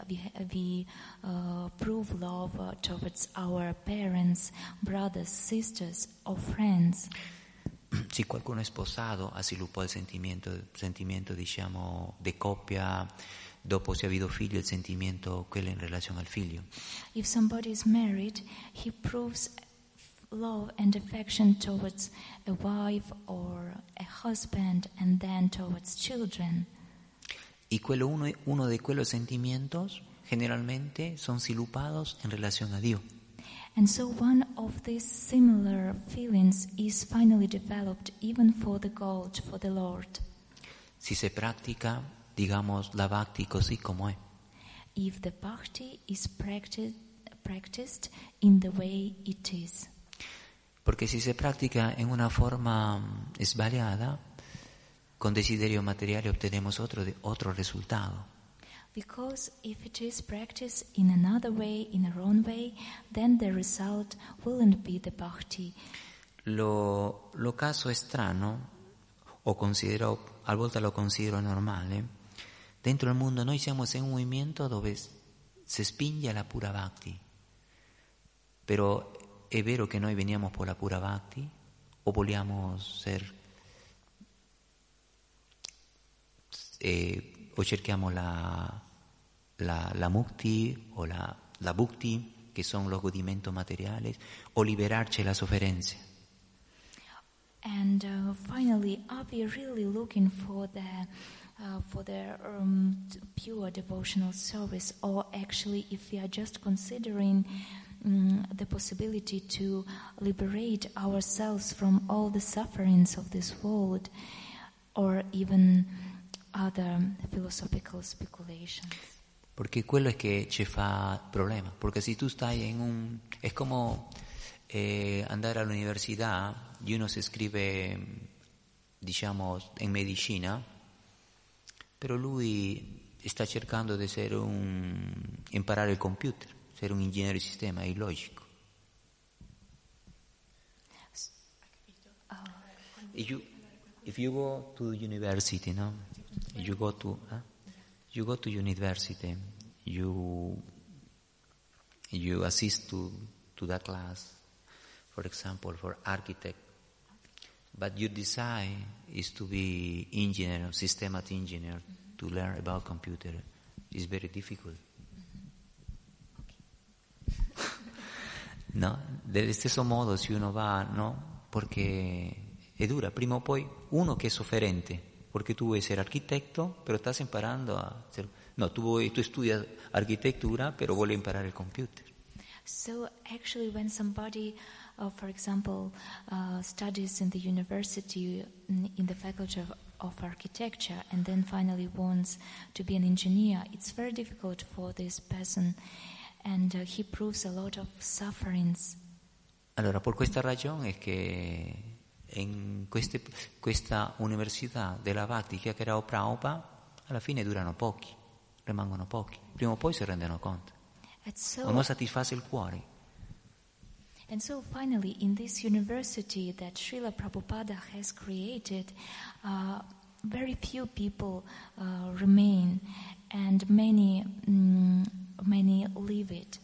prove love towards our parents, brothers, sisters, or friends. Se qualcuno è sposato, ha sviluppato il sentimento diciamo, di coppia, dopo si ha avuto figlio, il sentimento, quello in relazione al figlio. If somebody is married, he proves love and affection towards a wife or a husband and then towards children. Y uno de quellos sentimientos generalmente son sviluppados en relación a Dios. And so one of these similar feelings is finally developed even for the God, for the Lord. Si se practica, digamos, la bhakti così como è. If the bhakti is practiced in the way it is. Porque si se practica en una forma sbagliata, con desiderio materiale ottenemos otro resultado. Because if it is practiced in another way, in a wrong way, then the result wouldn't be the bhakti. Lo caso strano, a volte lo considero normale, dentro il mondo noi siamo in un movimento dove si spinge alla pura bhakti. Però è vero che noi veniamo per la pura bhakti o vogliamo o cerchiamo la mukti o la bhukti, che sono los godimientos materiales, o liberarci la sofferenza. And finally, are we really looking for the pure devotional service, or actually, if we are just considering the possibility to liberate ourselves from all the sufferings of this world, or even other philosophical speculations? Porque quello es que ci fa problema. Porque si tú estás es como andare all'università y uno se iscrive, diciamo, in medicina, però lui sta cercando di imparare il computer, essere un ingegnere di sistema, è illogico. If you go to university, no? You go to university, you assist to that class, for example, for architect, but your desire is to be engineer, systems engineer, to learn about computer. It's very difficult. No? Dello stesso modo, se uno va, no? Perché è dura, prima o poi uno che è sofferente, porque tú vuoi ser arquitecto, pero estás imparando a ser... No, tú estudias arquitectura, pero vuoi imparare il computer. So actually when somebody, for example, studies in the university in the faculty of architecture and then finally wants to be an engineer, it's very difficult for this person and he proves a lot of sufferings. Allora, por questa ragione è che in questa università della Bhakti che ha creato Prabhupada, alla fine durano pochi, rimangono pochi, prima o poi si rendono conto, o non soddisface il cuore. And so finally, in this university that Srila Prabhupada has created, very few people remain, and many leave it.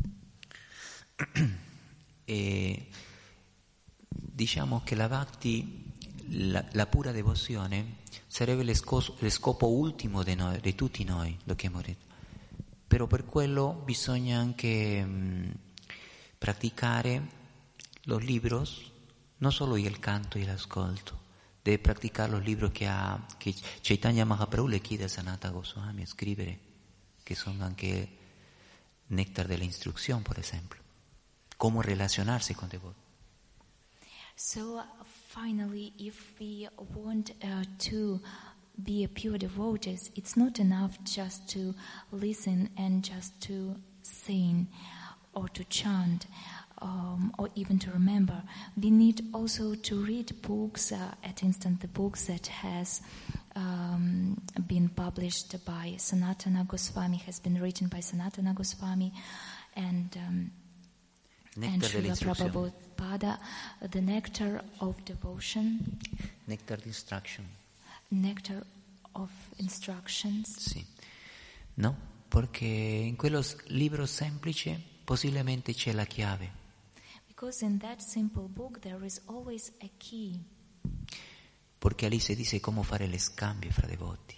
E diciamo che la Bhakti, la pura devozione, sarebbe lo scopo ultimo di tutti noi, lo che abbiamo detto. Però per quello bisogna anche praticare los libros, no solo il canto e l'ascolto, deve praticare los libros che Chaitanya Mahaprabhu le chiede a Sanatana Goswami a scrivere, che sono anche néctar della istruzione, per esempio, come relazionarsi con devoti. So finally, if we want to be a pure devotees, it's not enough just to listen and just to sing or to chant, or even to remember. We need also to read books, at instant the books that has been published by Sanatana Goswami, has been written by Sanatana Goswami, and Srila Prabhupada, the nectar of devotion. Nectar di instruction. Nectar of instructions. Sì. No, perché in quello libro semplice possibilmente c'è la chiave. Because in that simple book there is always a key. Perché lì si dice come fare le scambie fra devoti.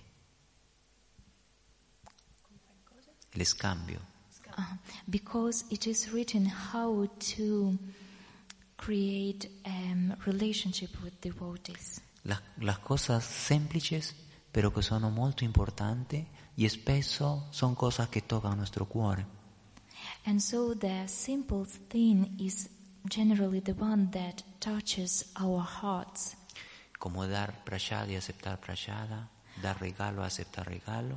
Le scambio. Because it is written how to create a relationship with devotees. Las cosas semplices, pero que sono molto importanti e spesso sono cose che toccano il nostro cuore. And so the simple thing is generally the one that touches our hearts. Como dar prashada y aceptar prashada, dar regalo, aceptar regalo,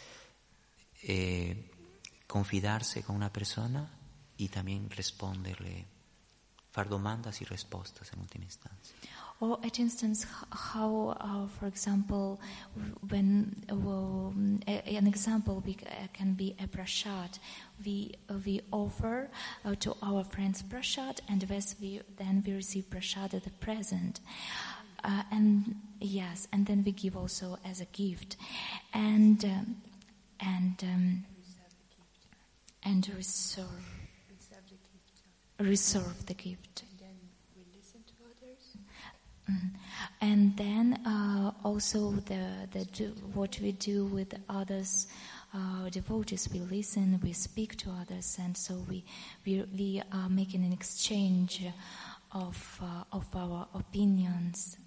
confidarse con una persona y también responderle, far domandas y respuestas en última instancia. Or at instance, how, for example, when an example can be a prashad, we offer to our friends prashad, and then we receive prashad as a present, and then we give also as a gift, and reserve the gift. And then also what we do with others, devotees, we listen, we speak to others, and so we are making an exchange of our opinions.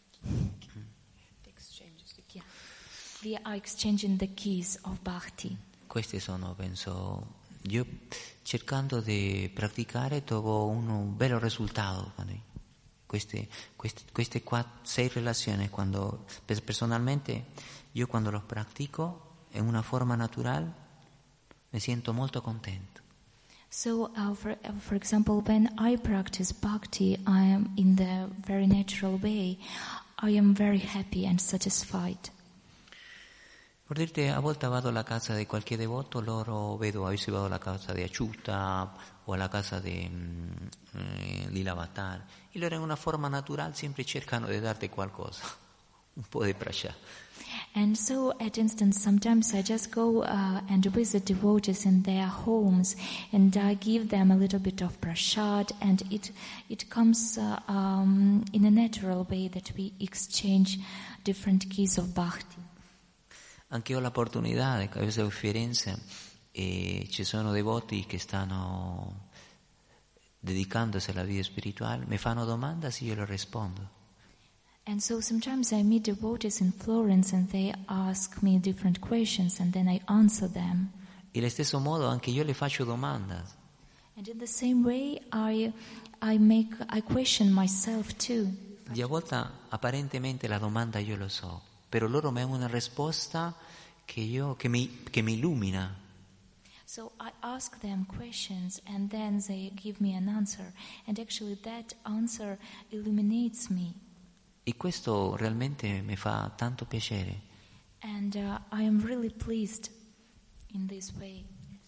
Yeah. We are exchanging the keys of bhakti. Questi sono, penso, io cercando di praticare trovo un bello risultato. Queste 6 relazioni, quando personalmente io quando lo pratico in una forma natural mi sento molto contento. So, for example, when I practice bhakti, I am in the very natural way. I am very happy and satisfied. Per dirti, a volte vado alla casa di qualche devoto, loro vedo, io vado alla casa di Achyuta o alla casa di Lilavatar, e loro in una forma naturale sempre cercano di darti qualcosa, un po' di prasad. And so, at instance, sometimes I just go and visit devotees in their homes, and I give them a little bit of prasad, and it comes in a natural way that we exchange different keys of bhakti. Anche io ho l'opportunità, a veces a Firenze, ci sono devoti che stanno dedicandosi alla vita spirituale, mi fanno domande e io le rispondo. And so sometimes I meet devotees in Florence and they ask me different questions and then I answer them. E allo stesso modo anche io le faccio domande. And in the same way I question myself too. Di a volte apparentemente la domanda io lo so, però loro mi hanno una risposta che mi illumina. So I ask them questions and then they give me an answer. And actually that answer illuminates me. E questo realmente mi fa tanto piacere. And I am really pleased in this way.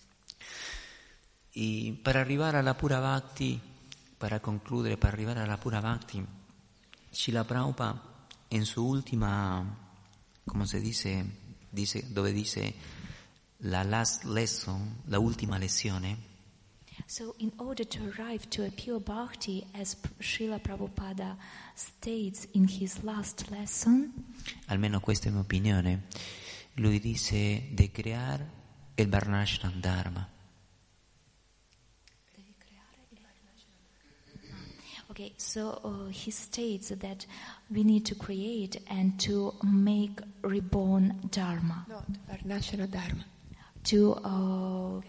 Y para arrivare alla Pura Bhakti, para concludere, para arrivare alla Pura Bhakti, Srila Prabhupada en su última, como se dice, dove dice la last lesson, la última lezione, So in order to arrive to a pure bhakti, as Srila Prabhupada states in his last lesson, almeno questa è la mia opinione, lui dice di creare il Varnashram Dharma. okay, so he states that we need to create and to make reborn dharma, Not Varnashana Dharma. to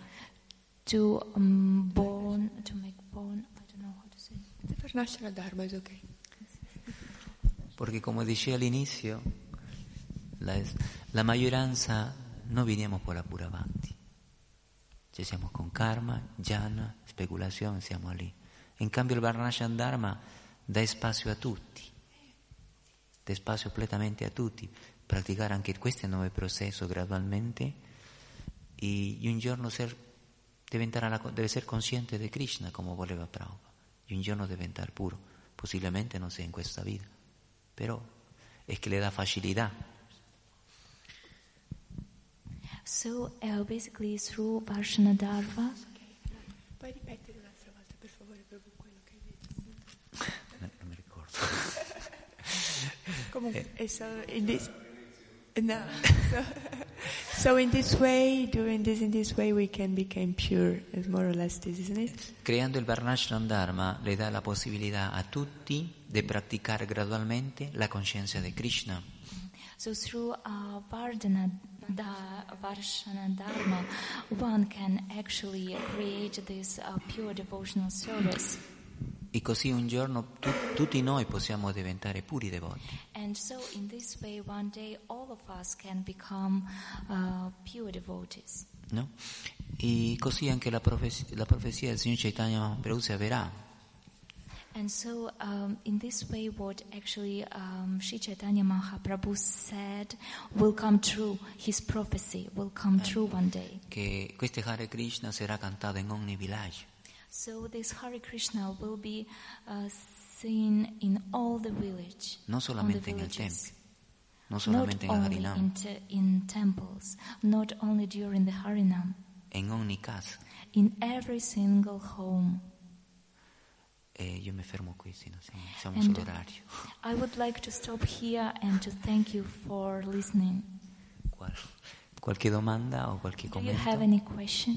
make born. I don't know how to say. The Varnashana Dharma is okay. Perché come dicevo all'inizio, la maggioranza non veniamo per la Pura Bhakti. Cioè siamo con karma, jhana, speculazione, siamo lì. In cambio il Varnashram Dharma dà spazio a tutti, dà spazio completamente a tutti, praticare anche questo nuovo processo gradualmente e un giorno deve essere consciente di Krishna come voleva Prabhupada, e un giorno diventare puro, possibilmente non sia in questa vita, però è che le dà facilità. So basically through Varshana Dharma, Puoi ripetere un'altra volta, per favore, proprio quello che hai detto? Non mi ricordo. Comunque, so in this, no, so in this way, doing this in this way, we can become pure. Is more or less this, isn't it? Creando il Varnashram Dharma le dà la possibilità a tutti di praticare gradualmente la coscienza di Krishna. so through Varshana Dharma, one can actually create this pure devotional service. E così un giorno tutti noi possiamo diventare puri devoti. And so in this way, one day, all of us can become pure devotees. No? E così anche la profezia del Signor Chaitanya Mahaprabhu si avverrà. And so in this way, what actually Sri Chaitanya Mahaprabhu said will come true. His prophecy will come true one day. Che questo Hare Krishna sarà cantato in ogni villaggio. So this Hare Krishna will be seen in all the village. Non solamente nel tempio, non solamente not nel only Harinam, in temples, not only during the Harinam, in ogni casa. in every single home. E io mi fermo qui, sì, siamo And sull'orario. I would like to stop here and to thank you for listening. Qualche domanda o qualche Do you have commento? any question?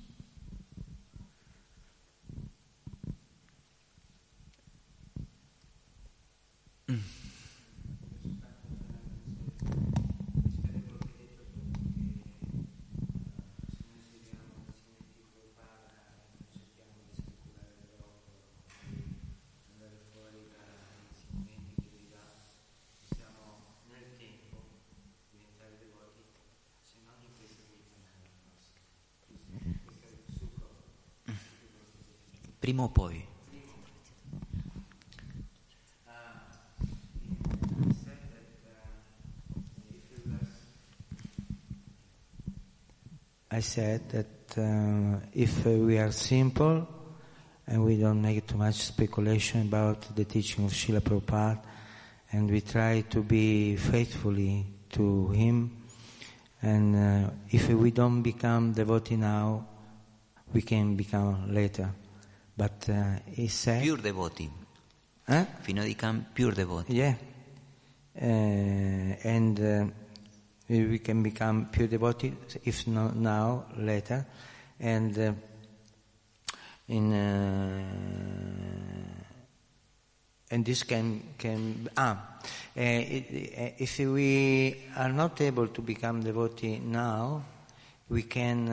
Prima o poi. I said that if we are simple and we don't make too much speculation about the teaching of Srila Prabhupada and we try to be faithfully to him, and if we don't become devotee now, we can become later. But he said... Pure devoti. Fino a become pure devoti. Yeah. And we can become pure devotee, if not now, later. And and this if we are not able to become devotee now, we can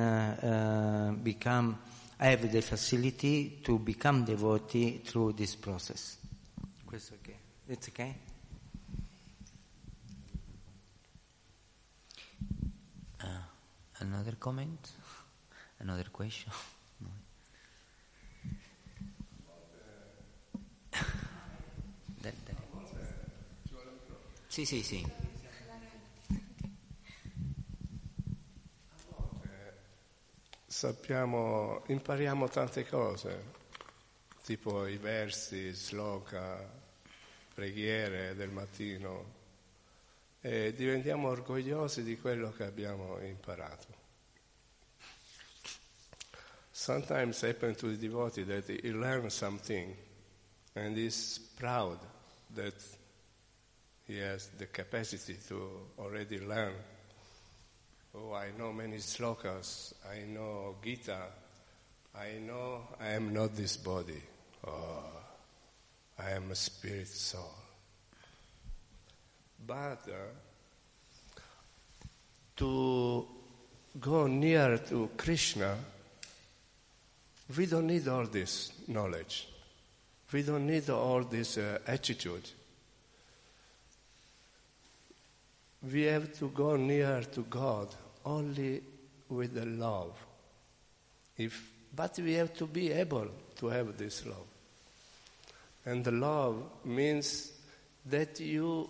have the facility to become devotee through this process. Questo okay? It's okay? Another comment? Another question? No. Sì. Impariamo tante cose, tipo i versi, sloka, preghiere del mattino, e diventiamo orgogliosi di quello che abbiamo imparato. Sometimes happen to the devotee that he learns something and is proud that he has the capacity to already learn. Oh, I know many slokas, I know Gita, I know I am not this body. Oh, I am a spirit soul. But to go near to Krishna, we don't need all this knowledge. We don't need all this attitude. We have to go near to God only with the love. But we have to be able to have this love. And the love means that you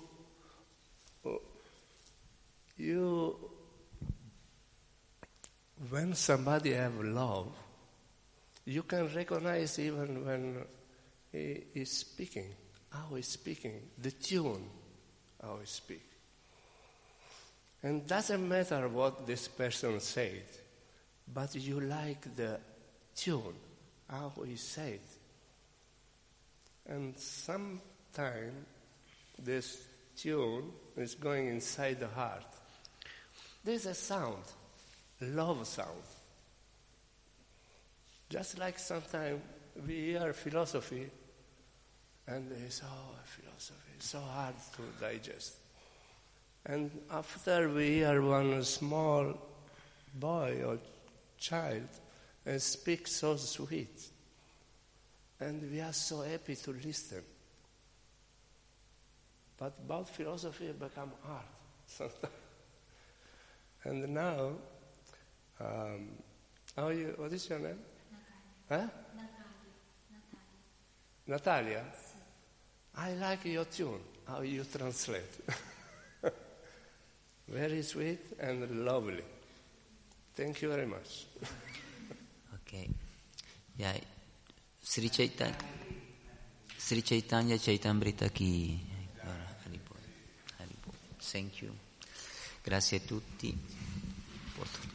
when somebody have love, you can recognize even when he is speaking, how he's speaking, the tune, how he speaks. And doesn't matter what this person said, but you like the tune, how he said. And sometimes this tune is going inside the heart. There's a sound, love sound. Just like sometimes we hear philosophy, and it's philosophy, it's so hard to digest. And after we hear one small boy or child and speak so sweet, and we are so happy to listen. But about philosophy become hard sometimes. And now, what is your name? Natalia. Natalia? I like your tune, how you translate. Very sweet and lovely. Thank you very much. Okay. Yeah. Sri Chaitanya Chaitamrita Ki. Thank you. Grazie a tutti.